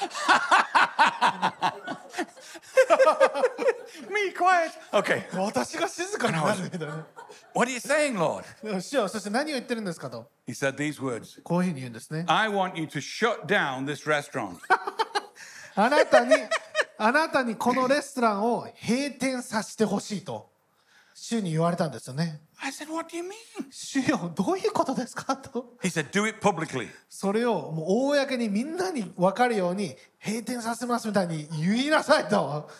Me quiet. Okay. ん。私が静かになるみたいな。 What are you saying, Lord? 主よ、そして何を言ってるんですかと。 He said these words. こういうふうに言うんですね。 I want you to shut down this restaurant. あなたにこのレストランを閉店させてほしいと主に言われたんですよね。 I said, what do you mean? 主よ、どういうことですかと。 He said, do it publicly. それをもう公にみんなに分かるように閉店させますみたいに言いなさいと。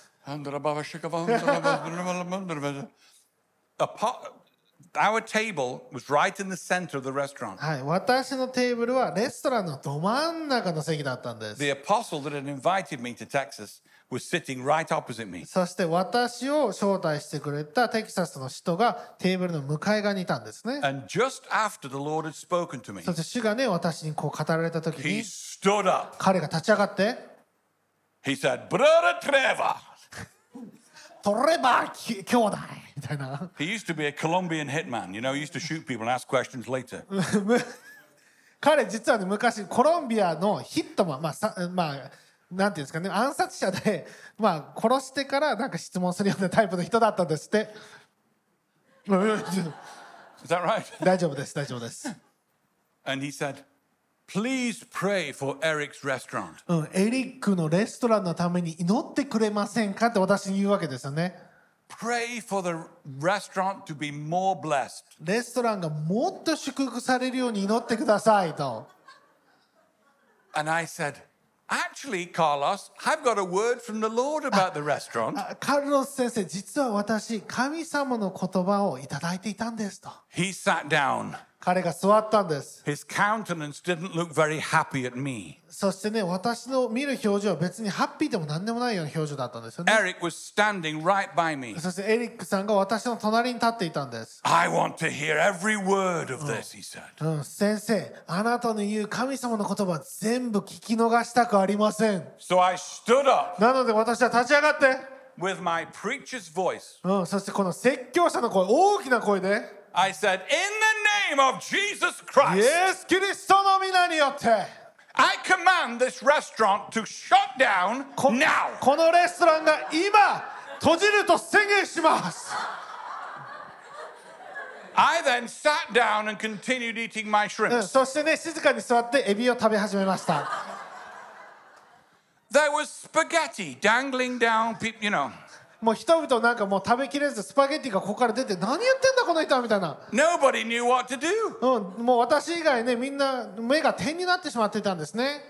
Our table was right in the center of the restaurant. はい、私のテーブルはレストランのど真ん中の席だったんです。 The apostle that had invited me to Texas was sitting right opposite me. そして私を招待してくれたテキサスの人がテーブルの向かい側にいたんですね。 And just after the Lord had spoken to me, そして主がね、私にこう語られた時 he に stood up. 彼が立ち上がって He said, Brother Trevor. トレバー兄弟みたいな。 He used to be a Colombian hitman. He used to shoot people and ask questions later. 彼実はね昔コロンビアのヒットマンなんていうんですかね暗殺者で殺してからなんか質問するようなタイプの人だったんですって。 Is that right? 大丈夫です。 And he said, please pray for Eric's restaurant. エリックのレストランのために祈ってくれませんかって私に言うわけですよね。 Pray for the restaurant to be more blessed. レストランがもっと祝福されるように祈ってくださいと。 And I said, actually, Carlos, I've got a word from the Lord about the restaurant. カルロス先生、実は私、神様の言葉をいただいていたんですと。 He sat down. 彼が座ったんです。 His countenance didn't look very happy at me. そしてね、私の見る表情は別にハッピーでも何でもないような表情だったんですよね。 Eric was standing right by me. そしてエリックさんが私の隣に立っていたんです。 I want to hear every word of this, he said. 先生、あなたの言う神様の言葉全部聞き逃したくありません。 So I stood up なので私は立ち上がって、 with my preacher's voice. そしてこの説教者の声、大きな声で、 I said, in the name of Jesus Christ, イエス・キリストの皆によって、 I command this restaurant to shut down こ now. このレストランが今閉じると宣言します。 I then sat down and continued eating my shrimps. そしてね、静かに座ってエビを食べ始めました。 There was spaghetti dangling down, you know. もう人々なんかもう食べきれずスパゲッティがここから出て、何言ってんだこの人はみたいな。 Nobody knew what to do. もう私以外ね、みんな目が点になってしまっていたんですね。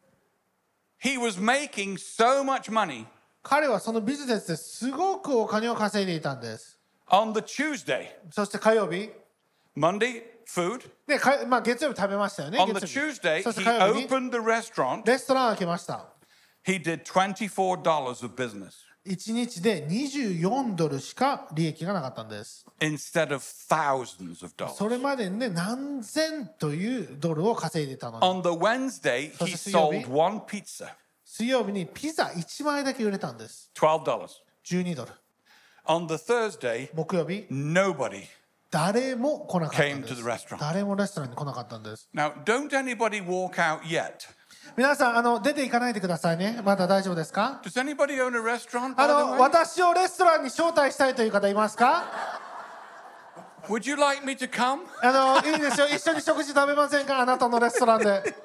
He was making so much money. 彼はそのビジネスですごくお金を稼いでいたんです。 On the Tuesday, そして火曜日、 Monday, food. でまあ、月曜日食べましたよね。 On the 月曜日 Tuesday, そして he 火曜日に opened the restaurant. レストランを開けました。 He did $24 of business 1日で24ドルしか利益がなかったんです。 instead of thousands of dollars. それまでにね、何千というドルを稼いでいたのに。 On the Wednesday, he So sold one pizza, 水曜日にピザ1枚だけ売れたんです。 $12. 12ドル。 On the Thursday, 木曜日、 nobody. 誰も来なかったんで Came to す the restaurant. 誰もレストランに来なかったんです。 Now, don't anybody walk out yet. 皆さん出て行かないでくださいね。まだ大丈夫ですか？ Does anybody own a restaurant, by the way? 私をレストランに招待したいという方いますか？ Would you like me to come? いいですよ。一緒に食事食べませんか？あなたのレストランで。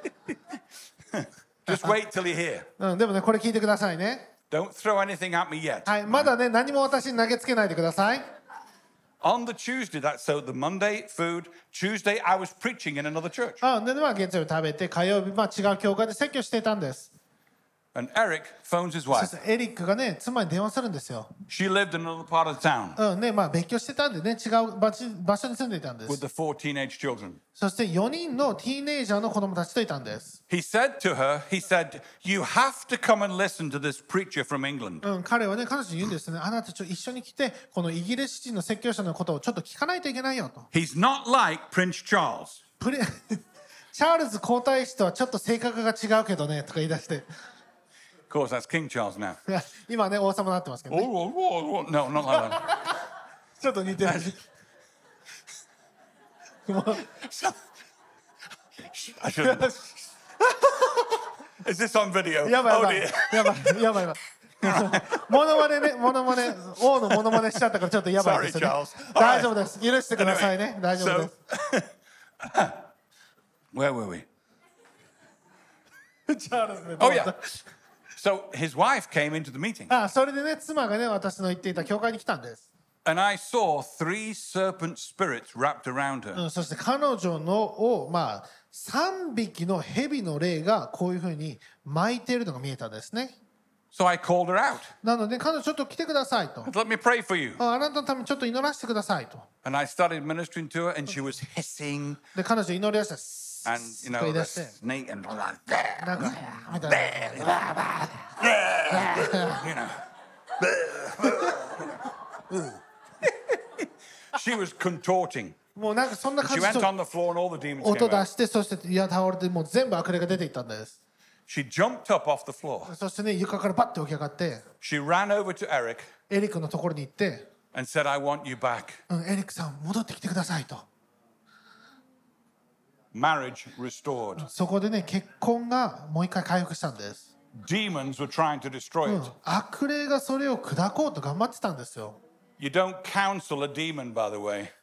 Just wait till you're here. でもね、これ聞いてくださいね。 Don't throw anything at me yet. はい、まだね、何も私に投げつけないでください。 On the Tuesday, that's so the Monday, food. Tuesday, I was preaching in another church. で、まあ、月曜日食べて、火曜日、まあ、違う教会で説教していたんです。 And Eric phones his そ wife. してエリックがね、妻に電話するんですよ。 She lived in another part of town ね、まあ、別居してたんでね、違う場所に住んでいたんで with す。 the 4 teenage children. そして4人のティーネイジャーの子供たちといたんです。 He said to her, he said, you have to come and listen to this preacher from England. 彼はね、彼女に言うんですね。あなた一緒に来て、このイギリス人の説教者のことをちょっと聞かないといけないよと。 He's not like Prince Charles. チャールズ皇太子とはちょっと性格が違うけどね、とか言い出して。 Of course, that's King Charles now. いや今ね、王様になってますけどね。 No, not like that. ちょっと似てる。もう I shouldn't. Is this on video? やばいや Oh ばい dear. やばいやばいやばい。モノマネね、王のモノマネしちゃったからちょっとやばいですよね Sorry, Charles.。 大丈夫です。許してくださいね。大丈夫で So, where were we? す。チャールズね Oh, yeah. So his wife came into the meeting, それでね、妻がね、私の言っていた教会に来たんです。 and I saw 3 serpent spirits wrapped around her. そして彼女のまあ3匹の蛇の霊がこういうふうに巻いているのが見えたんですね。 So I called her out. なので彼女ちょっと来てくださいと。 Let me pray for you. あなたのためにちょっと祈らせてくださいと。 And I started ministering to her, and she was hissing, で彼女祈り出した。 and you と know, 言い the 出して snake and なんかみたいな。 you know. She was contorting. もうなんかそんな感 She じ went で on the floor, and all the demons 音 came 出 out. してそして倒れてもう全部悪霊が出ていったんです。 She jumped up off the floor. そしてね床からバッて起き上がって She ran over to Eric エリックのところに行って「 and said, "I want you back." エリックさん戻ってきてください」と。 Marriage restored. そこでね結婚がもう一回回復したんです。 Demons were trying to destroy it. 悪霊がそれを砕こうと頑張ってたんですよ。 You don't counsel a demon, by the way.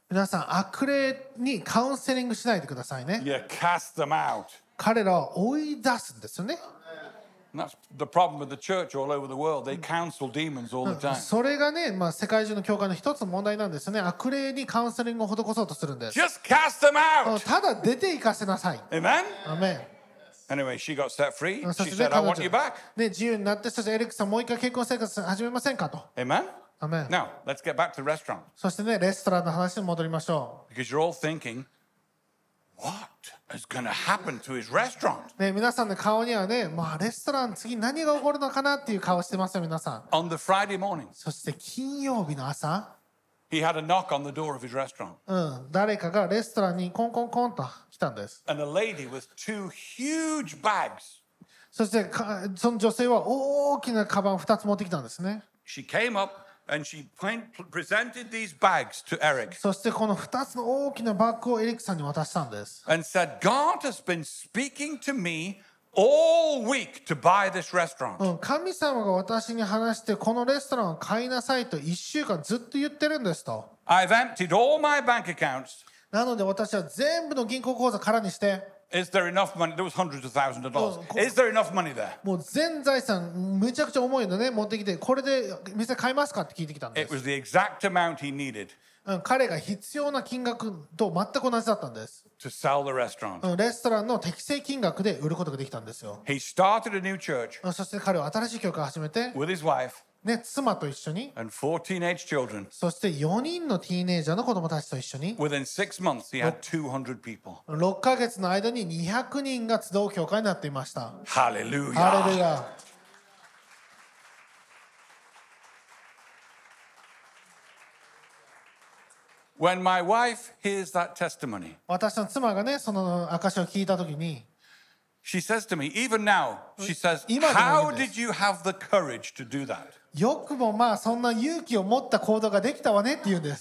皆さん悪霊にカウンセリングしないでくださいね。 You cast them out. 彼らを追い出すんですよね。 And that's the problem with the church all over the world. They counsel demons all the time. それがね、世界中の教会の一つの問題なんですよね。悪霊にカウンセリングを施そうとするんです。 Just cast them out. ただ出て行かせなさい。 Amen? アメン。 Anyway, she got set free. そ She してね、 said, I want you back. ね、自由になって、そしてエリックさんもう一回結婚生活始めませんかと。 Amen? アメン。 Now, let's get back to the restaurant. そしてね、レストランの話に戻りましょ Because you're all thinking, what is going to happen to his restaurant? う。ね、皆さんの顔にはね、レストラン次何が起こるのかなっていう顔してますよ、皆さん。 On the Friday morning, そして金曜日の朝、 he had a knock on the door of his restaurant. 誰かがレストランにコンコンコンと来たんです。 And a lady with two huge bags. そしてその女性は大きなカバンを2つ持ってきたんですね。 She came up and she presented these bags to Eric そしてこの2つの大きなバッグをエリックさんに渡したんです。 and said, God has been speaking to me all week to buy this restaurant. 神様が私に話してこのレストランを買いなさいと1週間ずっと言ってるんですと。 I've emptied all my bank accounts. なので私は全部の銀行口座空にして、 Is there enough money? There was hundreds of thousands of dollars. Is there enough money there? もう全財産めちゃくちゃ重いのね持ってきて、これで店買いますかって聞いてきたんで It す。 was the exact amount he needed 彼が必要な金額と全く同じだったんです。 to sell the restaurant. レストランの適正金額で売ることができたんですよ。 He started a new church そして彼は新しい教会を始めて、 with his wife ね、妻と一緒に、 and 4 teenage children. そして4人のティーネイジャーの子供たちと一緒に Within 6 months, he had 200 people. 6ヶ月の間に200人が集う教会になっていました。 Hallelujah. ハレルヤ。 When my wife hears that testimony, 私の妻がね、その証を聞いたときに、 she says to me, even now, she says, 今でも how いいんです。 did you have the courage to do that? よくもそんな勇気を持った行動ができたわねって言うんです。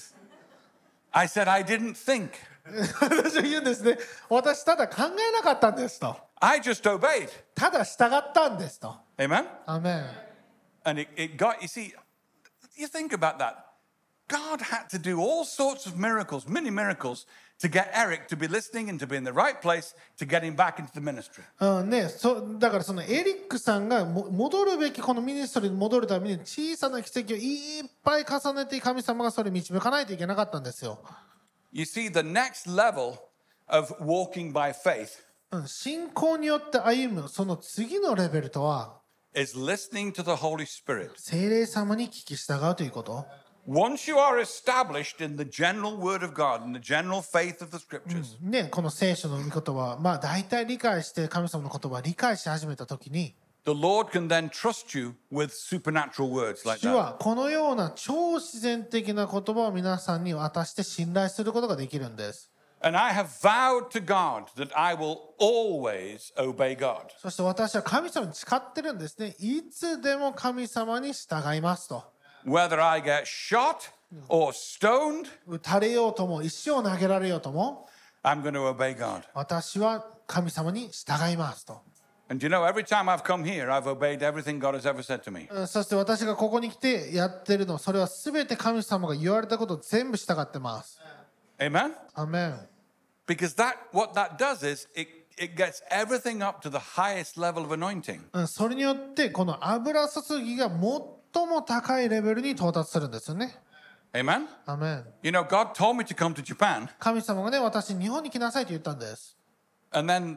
I said, I didn't think. 私は言うんですね。私ただ考えなかったんですと。 I just obeyed. ただ従ったんですと。 Amen? アメン。 And it got, you see, you think about that. God had to do all sorts of miracles, mini miracles, to get Eric to be listening and to be in the right place to get him back into the ministry. だからそのエリックさんが戻るべきこのミニストリーに戻るために小さな奇跡をいっぱい重ねて神様がそれを導かないといけなかったんですよ。 You see, the next level of walking by faith 信仰によって歩むその次のレベルとは is listening to the Holy Spirit. 聖霊様に聞き従うということ。 Once you are established in the general Word of God and the general faith of the Scriptures, ね、この聖書の御言葉、大体理解して神様の言葉を理解し始めたときに、 the Lord can then trust you with supernatural words like 主 that. はこのような超自然的な言葉を皆さんに渡して信頼することができるんです。 And I have vowed to God that I will always obey God. そして私は神様に誓ってるんですね。いつでも神様に従いますと。 Whether I get shot or stoned, 撃たれようとも石を投げられようとも I'm going to obey God. 私は神様に従いますと。 And you know, every time I've come here, I've obeyed everything God has ever said to me. そして私がここに来てやってるの、それは全て神様が言われたことを全部従ってます。 Amen? アメン。 Because what that does is it gets everything up to the highest level of anointing. それによってこの油注ぎが最も高いレベルに到達するんですよね。 Amen? アメン。 You know, God told me to come to Japan, 神様がね、私に日本に来なさいと言ったんです。 and then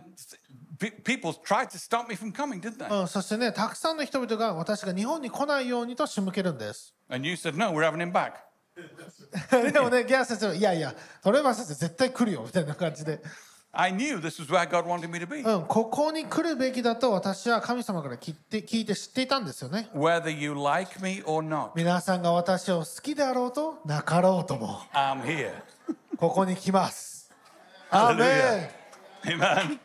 people tried to stop me from coming, didn't they? そしてね、たくさんの人々が私が日本に来ないようにと仕向けるんです。 And you said, no, we're having him back. でもね、ギャー先生は、いやいや、トレバー先生絶対来るよみたいな感じで、 I knew this was where God wanted me to be. ここに来るべきだと私は神様から聞いて知っていたんですよね。 Whether you like me or not, 皆さんが私を好きであろうとなかろうとも、 I'm here. ここに来ます。アーメン。 Amen.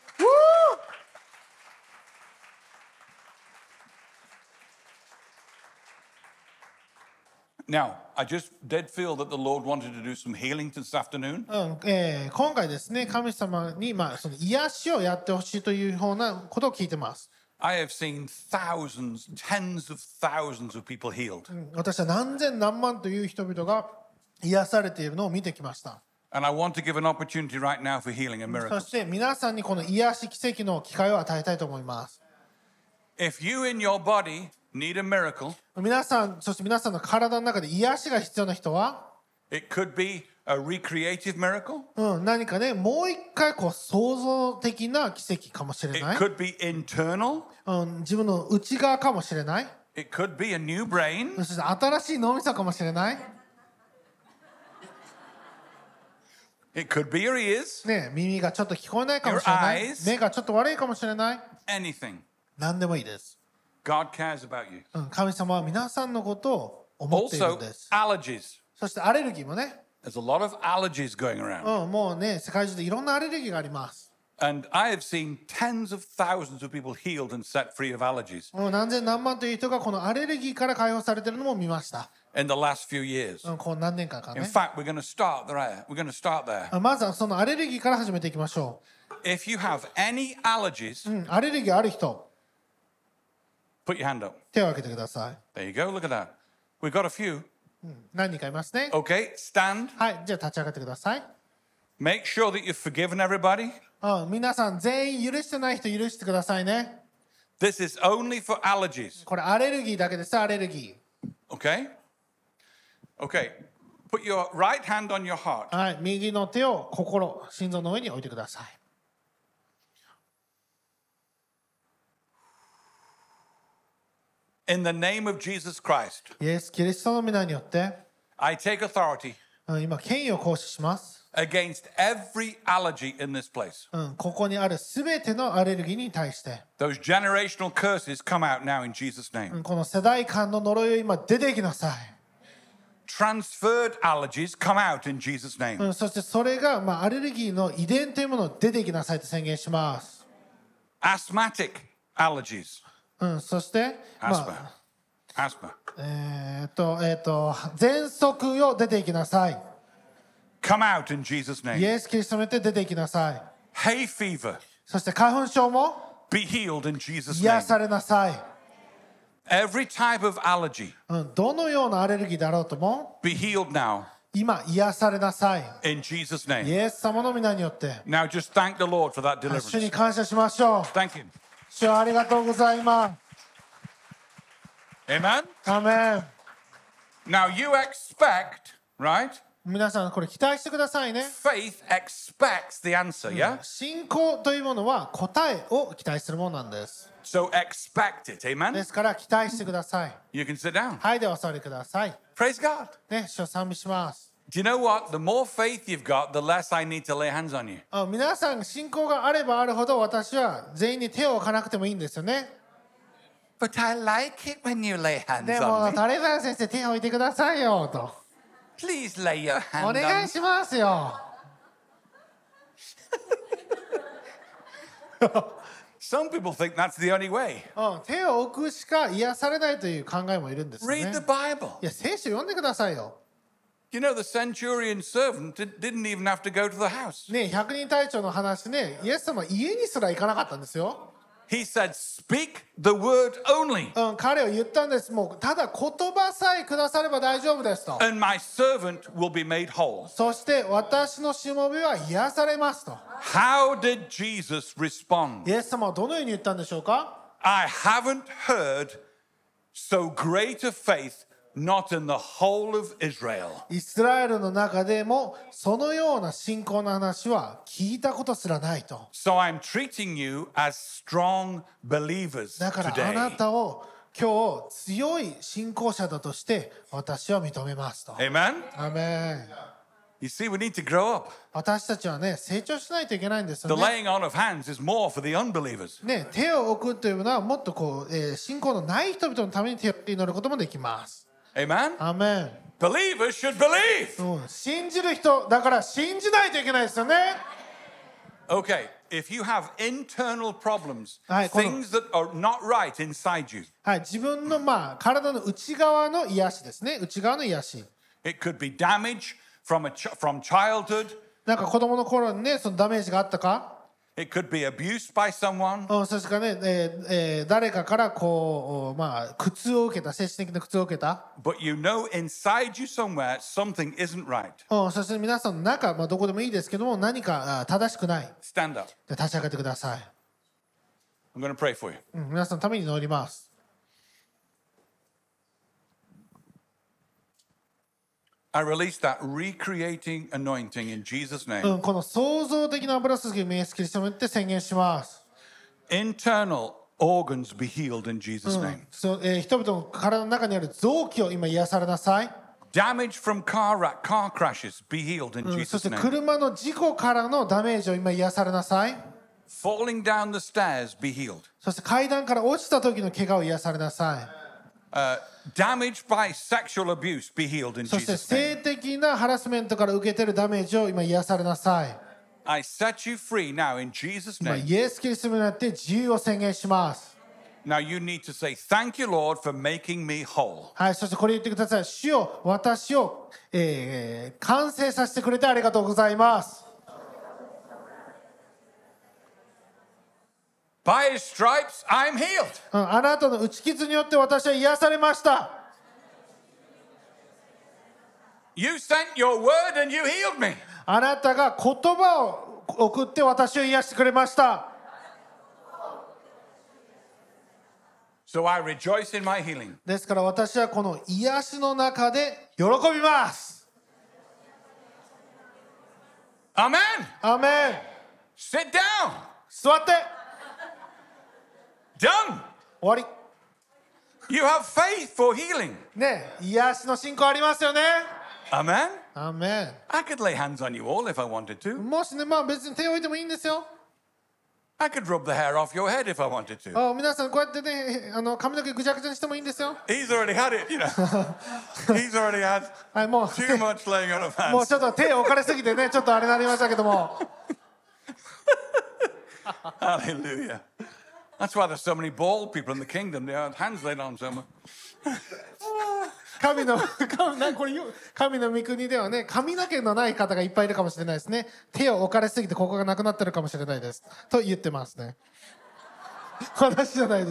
Now, I just did feel that the Lord wanted to do some healing this afternoon. 今回ですね、神様に、その癒しをやってほしいというようなことを聞いてます。 I have seen thousands, tens of thousands of people healed. 私は何千何万という人々が癒されているのを見てきました。 And I want to give an opportunity right now for healing and そ miracles. して皆さんにこの癒し奇跡の機会を与えたいと思います。 If you in your body need a miracle, 皆さん、そして皆さんの体の中で癒しが必要な人は、 it could be a recreative miracle. 何かね、もう一回こう創造的な奇跡かもしれ It ない。 could be internal. 自分の内側かもしれない。 It could be a new brain. そして新しい脳みそかもしれない。 It could be your ears. ね、耳がちょっと聞こえないかもしれない。 Your eyes. 目がちょっと悪いかもしれない。 Anything. 何でもいいです。 God cares about you. 神様は皆さんのことを思っているん Also, です。 allergies. そしてアレルギーもね、 There's a lot of allergies going around. もうね、世界中でいろんなアレルギーがあります。 And I have seen tens of thousands of people healed and set free of allergies 何千何万という人がこのアレルギーから解放されているのも見ました。 in the last few years. こう何年間か In ね。 fact, we're going to start there. We're going to start there. まずはそのアレルギーから始めていきましょ If you have any allergies, う。アレルギーある人、 put your hand up. 手を挙げてください。 There you go. Look at that. We've got a few. 何人かいますね。 Okay, stand. はい、じゃあ立ち上がってください。 Make sure that you've forgiven everybody. 皆さん全員許してない人許してくださいね。 This is only for allergies. これアレルギーだけです、アレルギ Okay? Okay. Put your right hand on your heart. ー。はい、右の手を心臓の上に置いてください。 In the name of Jesus Christ, イエス・キリストの皆によって、 I take authority 今権威を行使します。 against every allergy in this place. ここにあるすべてのアレルギーに対して、 Those generational curses come out now in Jesus' name. この世代間の呪いを今出ていきなさい。 Transferred allergies come out in Jesus' name. そしてそれが、アレルギーの遺伝というものを出ていきなさいと宣言します。 Asthmatic allergies. そして、 Asthma. Asthma. 喘息よ出ていきなさい。 Come out in Jesus' イ name. エス・キリストによって出ていきなさい。 Hay fever. そして花粉症も Be healed in Jesus' 癒 name. されなさい。 Every type of allergy. どのようなアレルギーだろうとも Be healed now 今癒されなさい。 in Jesus' イ name. エス様の皆によって Now just thank the Lord for that 主に deliverance. 感謝しましょう。 Thank Him. 主ありがとうございます。 Amen. アメン。 Now you expect, right? 皆さんこれ期待してくださいね。 Faith expects the answer, yeah? 信仰というものは答えを期待するものなんです。 So expect it, で amen? すから期待してください。 You can sit down. はい、ではお座りください。 Praise God. ね、主を賛美します。 Do you know what? The more faith you've got, the less I need to lay hands on you. 皆さん信仰があればあるほど私は全員に手を置かなくてもいいんですよね。 But I like it when you lay hands でも on me. タレザン先生手を置いてくださいよと Please lay your お hand 願 on い me. しますよ。 Some people think that's the only way. 手を置くしか癒されないという考えもいるんですよね。 Read the Bible. いや聖書読んでくださいよ。 You know, the centurion servant didn't even have to go to the house. ね、百人隊長の話ね、イエス様家にすら行かなかったんですよ。 He said, Speak the word only, 彼は言ったんです。もうただ言葉さえくだされば大丈夫ですと。 and my servant will be made whole. そして私のしもべは癒されますと。 How did Jesus respond? イエス様はどのように言ったんでしょうか。 I haven't heard so great a faith, not in the whole of Israel. イスラエルの中でもそのような信仰の話は聞いたことすらないと。 So I'm treating you as strong believers だからあな today. たを今日強い信仰者だとして私は認めますと。 Amen? アメン。 You see, we need to grow up. 私たちはね成長しないといけないんです The よね。 laying on of hands is more for the unbelievers. ね、手を置くというのはもっとこう、信仰のない人々のために手を祈ることもできます。 Amen? アメン。 Believers should believe. 信じる人だから信じないといけないですよね。 Okay, if you have internal problems, はい、 things that are not right inside you, はい、自分の体の内側の癒しですね。内側の癒し。 it could be damage from childhood. なんか子供の頃にねそのダメージがあったか。 It could be abuse by someone. そしてね、誰かからこう、まあ、苦痛を受けた、精神的な苦痛を受けた。 But you know inside you somewhere something isn't right. そして皆さんの中、まあ、どこでもいいですけども、何か正しくない。 Stand up. で立ち上がってください。 I'm going to pray for you. 皆さんのために祈ります。 I release that recreating anointing in Jesus' name. この創造的な油注ぎをイエスキリストによって宣言します。 Internal organs be healed in Jesus' name. 人々の体の中にある臓器を今癒されなさい。 Damage from car crashes be healed in そし Jesus' て name. 車の事故からのダメージを今癒されなさい。 Falling down the stairs be healed. そして階段から落ちた時の怪我を癒されなさい。 Damage by sexual abuse be healed in そして Jesus' name. 性的なハラスメントから受けているダメージを今癒されなさい。 I set you free now in Jesus' 今 name. イエスキリストによって自由を宣言します。 Now you need to say, Thank you, Lord, for making me whole. はい、そしてこれ言ってください。主よ、私を、完成させてくれてありがとうございます。 By his stripes, I'm healed. あなたの打ち傷によって私は癒されました。 You sent your word and you healed me. あなたが言葉を送って私を癒してくれました。 So I rejoice in my healing. ですから私はこの癒しの中で喜びます。 Amen. アーメン。 Sit down. 座って。 Done. 終わり。 You have faith for healing. ね、癒しの信仰ありますよね。 Amen. アーメン。 I could lay hands on you all if I wanted to. もしね、まあ別に手を置いてもいいんですよ。 I could rub the hair off your head if I wanted to. 皆さんこうやってね、髪の毛ぐちゃぐちゃにしてもいいんですよ。 He's already had it, you know. He's already had はい、もう too much laying on of もう hands. ちょっと手を置かれすぎてね、ちょっとあれになりましたけども。 Hallelujah. That's why there's so many bald people in the kingdom. They have hands laid on someone. 神の御国ではね、髪の毛のない方がいっぱいいるかもしれないですね。手を置かれすぎてここがなくなってるかもしれないですと言ってますね。私じゃないです。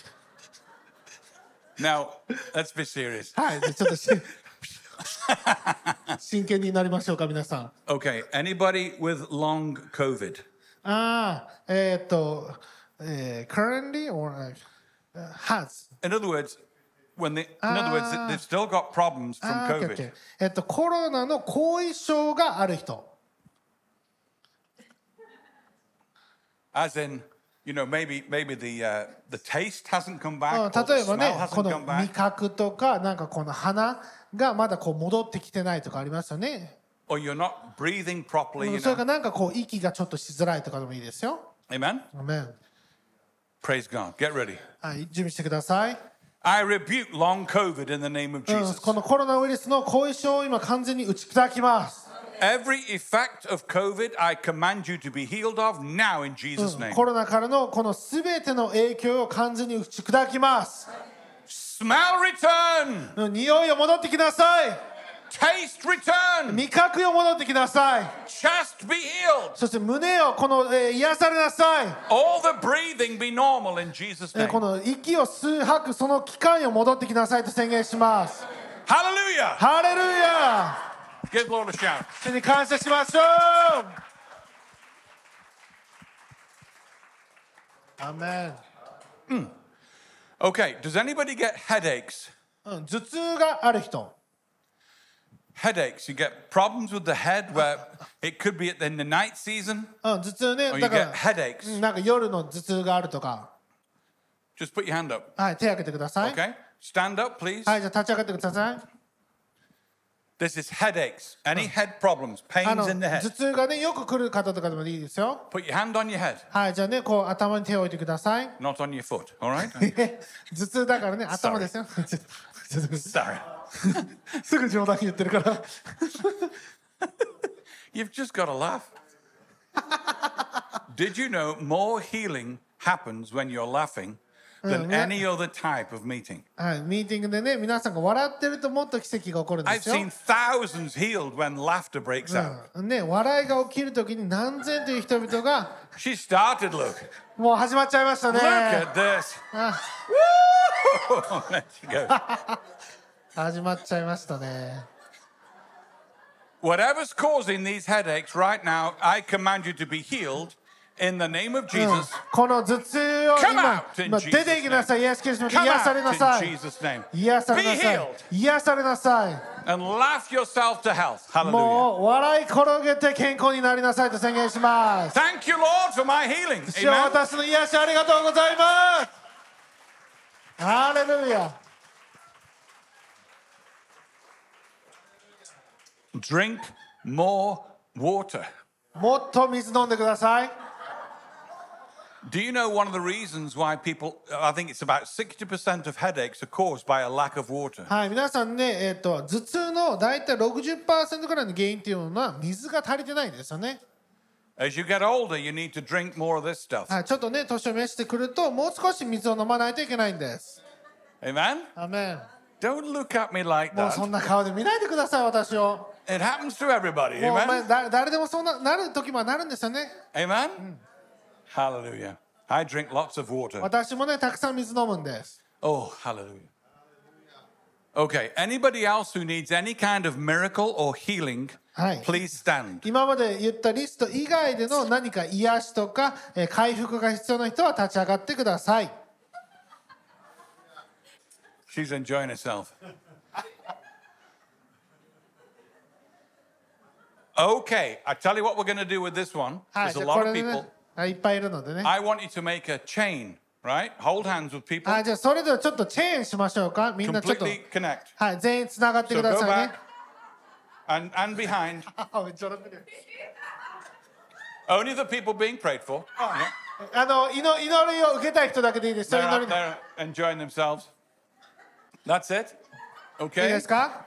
Now, let's be serious. はい、ちょっと真剣になりましょうか皆さん。 Okay, anybody with long COVID? Currently or has In other words, they've still got problems from COVID. OK コロナの後遺症がある人。 As in, you know, maybe the taste hasn't come back, or the 例えば smell ね、こ hasn't の come 味 back, 覚とか、なんかこの鼻がまだこう戻ってきてないとかありますよね。 or you're not breathing properly, you それ know. かなんかこう息がちょっとしづらいとかでもいいですよ。 Amen? アメン。 Praise God. Get ready. はい、準備してください。 I rebuke long COVID in the name of Jesus. このコロナウイルスの後遺症を今完全に打ち砕きます。 Every effect of COVID, I command you to be healed of now in Jesus' name. コロナからのこのすべての影響を完全に打ち砕きます。 Smell return. 匂いを戻ってきなさい。 Taste return. 味覚よ戻ってきなさい。 Chest be healed. そして胸をこの、癒されなさい。 All the breathing be normal in Jesus' name. この息を吸う吐くその期間よ戻ってきなさいと宣言します。 Hallelujah. ハレルヤ。 Give Lord a shout. 主に感謝しましょう。アーメン。 Okay, does anybody get headaches? 頭痛がある人。 Headaches. You get problems with the head where it could be in the night season, 頭痛ね。 or you だか get ら headaches. なんか夜の頭痛があるとか。 Just put your hand up. はい、手を挙げてください。 Okay? Stand up, please. はい、じゃあ立ち上がってください。 This is headaches. Any head problems, 頭 pains in the head. 痛がねよく来る方とかでもいいですよ。 Put your hand on your head, はい、じゃあねこう頭に手を置いてください。 not on your foot. All right? 頭痛だからね頭ですよ。ちょっと Sorry. すぐ冗談言ってるから。 You've just got to laugh. Did you know more healing happens when you're laughing than any other type of meeting. はい、ミーティングでね、皆さんが笑ってるともっと奇跡が起こるんで I've すよ。 seen thousands healed when laughter breaks out. ね、笑いが起きるときに何千という人々が She started, look. もう始まっちゃいましたね。 Look at this. あ Woo! There she goes. 始まっちゃいましたね。 Whatever's causing these headaches right now, I command you to be healed in the name of Jesus. この頭痛を Come 今 out in 出ていきなさい。イエス・キリストに Come 癒されな out さ in い。 Jesus' name. 癒され Be なさい healed 癒されなさい。 and laugh yourself to health. Hallelujah. もう笑い転げて健康になりなさいと宣言します。 Thank you, Lord, for my healing. 主よ Amen. 私の癒しありがとうございます。ハレルヤ。 Drink more water. もっと水飲んでください。 Do you know one of the reasons why people, I think it's about 60% of headaches are caused by a lack of water? はい、皆さんね、頭痛の大体 60% くらいの原因っていうのは水が足りてないんですよね。 As you get older, you need to drink more of this stuff. はい、ちょっとね、年を召してくると、もう少し水を飲まないといけないんです。 Amen? アメン。 Don't look at me like もうそ that. んな顔で見ないでください、私を。 It happens to everybody. もうお前 Amen? 誰でもそうなる時もなるんですよね。 Amen? Hallelujah. I drink lots of water. 私もね、たくさん水飲むんです。 Oh, hallelujah. Okay, anybody else who needs any kind of miracle or healing, はい。 please stand. 今まで言ったリスト以外での何か癒しとか回復が必要な人は立ち上がってください。 She's enjoying herself. Okay, I tell you what we're going to do with this one. はい、 There's じ a ゃあこ lot れ of でね people. はい、いっぱいいるのでね。 I want you to make a chain, right? Hold hands with people. はい、じゃあそれではちょっとチェーンしましょうか。みんなちょっと、 Completely connect. はい、全員つながって So くだ go さい back ね。 and behind. めっちゃ笑ってる。 Only the people being prayed for. Yeah. 祈りを受けたい人だけでいいですよ。 They're 祈 up り。 there enjoying themselves. That's it. いい Okay? ですか？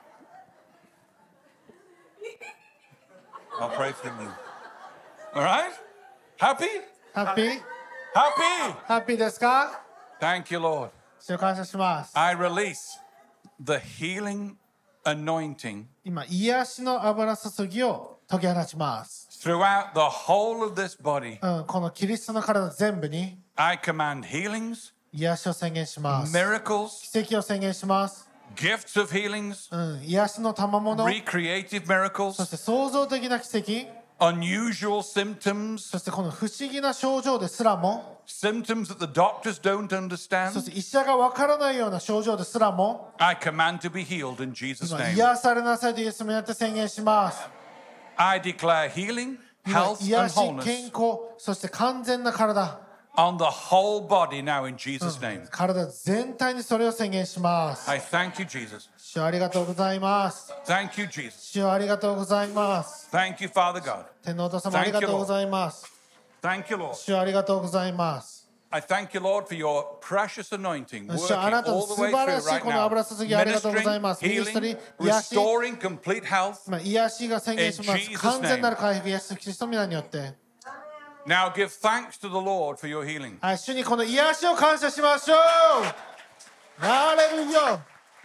I'll pray for you. All right? Happy? ハッピー？ Happy? ハッピーですか？ Thank you, Lord. 主を感謝します。 I release the healing anointing 今、癒しの油注ぎを解き放ちます。 throughout the whole of this body. このキリストの体全部に I command healings, 癒しを宣言します。 miracles, 奇跡を宣言します。 gifts of healings, 癒しの賜物、 recreative そ miracles, して創造的な奇跡、 unusual symptoms, そしてこの不思議な症状ですらも、 symptoms that the doctors don't そ understand. して医者がわからないような症状ですらも、 I command to be healed in Jesus' 今 name. 癒されなさいとイエスによって宣言します。 I declare healing, 今 health, 癒 and し、健 wholeness 康、そして完全な体、 on the whole body now in Jesus' name. 体全体にそれを宣言します。 I thank you, Jesus. 主ありがとうございます。 Thank you, Jesus. 主ありがとうございます。 Thank you, Father God. 天皇お父様ありがとうございます。 Thank you, Lord. 主ありがとうございます。 I thank you, Lord, for your precious anointing working 主あなたの all the 素 way 晴ら through しい right この now. 油注ぎありがとうございます。 Ministering, ミニストリ healing, ー、癒し、 restoring complete health. 癒しが宣言しま In す。 Jesus' 完全なる回復、イエス・キリストの皆によって。 Now give thanks to the Lord for your healing. はい、主にこの癒しを感謝しましょう。ハレルヤ。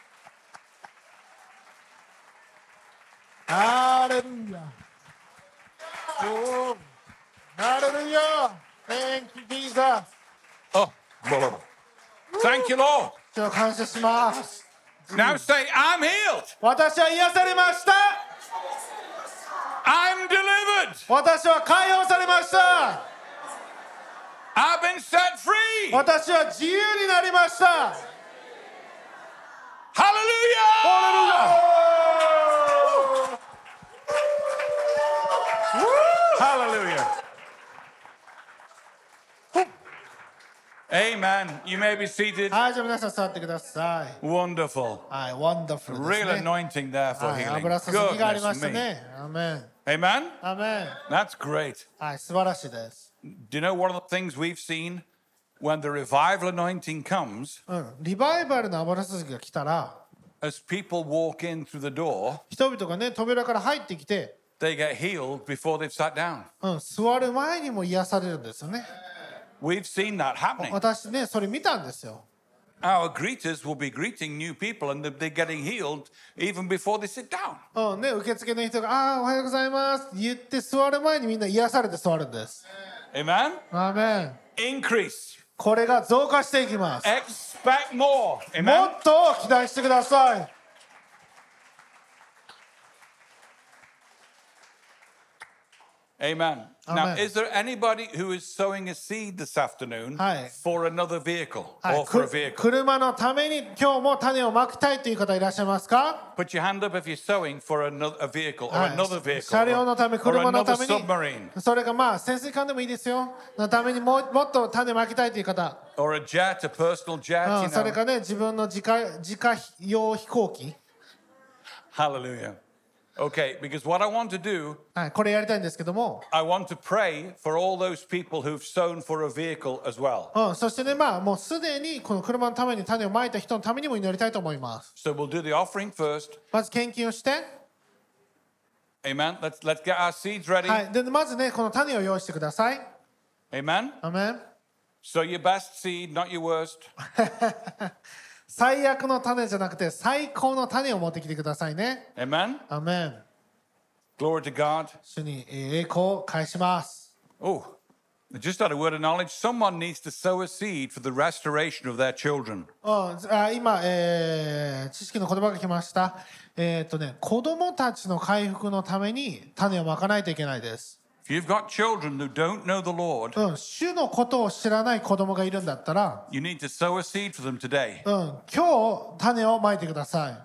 ハレルヤ。ハレルヤ。Thank you, Jesus. Oh, blah, blah, blah. Thank you, Lord. 主を感謝します。 Now say, I'm healed. 私は癒されました。 I'm delivered. 私は解放されました。 I've been set free. 私は自由になりました。 Hallelujah. Hallelujah. Amen. You may be seated. はい、じゃあ皆さん座ってください。 Wonderful. はい、wonderful です Real ね。 anointing there for はい、 healing. 油注ぎがありま Goodness した me. ね。アメン。 Amen. アメン。 That's great. はい、素晴らしいです。 Do you know one of the things we've seen when the revival anointing comes? リバイバルの油注ぎが来たら、 As people walk in through the door, 人々がね、扉から入ってきて、 they get healed before they've sat down. 座る前にも癒されるんですよね。 We've seen that happening. 私ねそれ見たんですよ。 Our greeters will be greeting new people and they're getting healed even before they sit down. ね、受付の人が「おはようございます」って言って座る前にみんな癒されて座るんです。 Amen? アーメン。 Increase. これが増加していきます。 Expect more. も Amen? っと期待してください。 Amen. Now, Amen. is there anybody who is sowing a seed this afternoon Hi. for another vehicle はい or for a vehicle? 車のために今日も種をまきたいという方いらっしゃいますか？ Put your hand up if you're sowing for a vehicle or はい another vehicle 車両のため、 or 車の another ため submarine に、それがまあ潜水艦でもいいですよ。のためにもっと種まきたいという方、 or a jet, a personal jet, you それ know. かね、自分の自家用飛行機、 Hallelujah. Okay, because what I want to do, はい、これやりたいんですけども、 I want to pray for all those people who've sown for a vehicle as well. そしてね、まあもうすでにこの車のために種をまいた人のためにも祈りたいと思います。 So we'll do the offering first. まず献金をして、 Amen. Let's get our seeds ready. はい、でまずね、この種を用意してください。 Amen. アメン。 So your best seed, not your worst. 最悪の種じゃなくて最高の種を持ってきてくださいね。 Amen. アメン。 Glory to God. 主に栄光を返します。 Oh, I just had a word of knowledge. Someone needs to sow a seed for the restoration of their children. 今、知識の言葉が来ました。子供たちの回復のために種をまかないといけないです。 If you've got children who don't know the Lord, 主のことを知らない子供がいるんだったら、 you need to sow a seed for them today. 今日種をまいてください。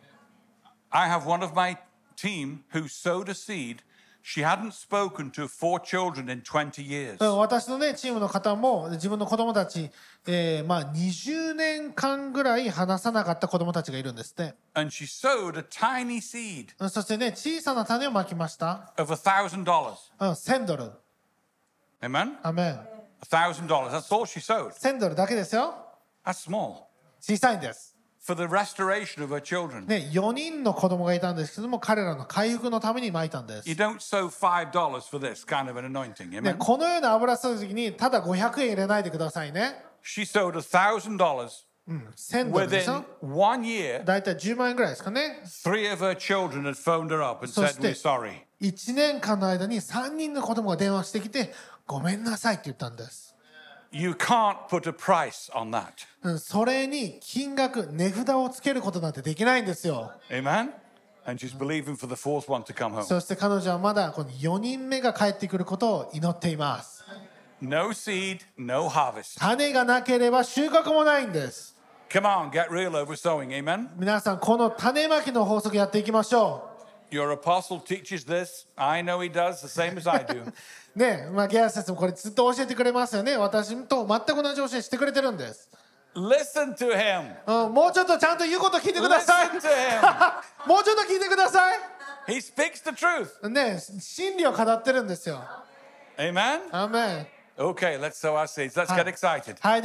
I have one of my team who sowed a seed. She hadn't spoken to 4 children in 20 years. 私のねチームの方も自分の子供たち、20年間ぐらい話さなかった子供たちがいるんですね。 And she sowed a tiny seed そしてね小さな種をまきました。 of $1,000. 1000ドル。 Amen? アメン。 $1,000. That's all she sowed. 1000ドルだけですよ。 That's small. 小さいんです。 For the restoration of her children. ね、4人の子供がいたんですけども、彼らの回復のためにまいたんです。 You don't sow $5 for this kind of an anointing. ね、 Amen? このような油注ぐ時にただ500円入れないでくださいね。 She sowed $1,000. 1000ドルでし Within ょ。 1 year, だいたい10万円ぐらいですかね。 3 of her children had phoned her up and So said, We're still- sorry. 1年間の間に3人の子供が電話してきて、ごめんなさいって言ったんです。 You can't put a price on that. それに金額、値札をつけることなんてできないんですよ。 Amen? And she's believing for the fourth one to come home. そして彼女はまだこの4人目が帰ってくることを祈っています。 No seed, no harvest. 種がなければ収穫もないんです。 Come on, get real over sowing. Amen? 皆さん、この種まきの法則やっていきましょ Your apostle teaches this. I know he does, the same as I do. う。ね、ゲア先生もこれずっと教えてくれますよね。私と全く同じ教えしてくれてるんです。 Listen to him. もうちょっとちゃんと言うこと聞いてください。 Listen to him. もうちょっと聞いてください。 He speaks the truth. ね、真理を語ってるんですよ。 Amen? アーメン。 Okay, let's sow our seeds. Let's get excited. はい。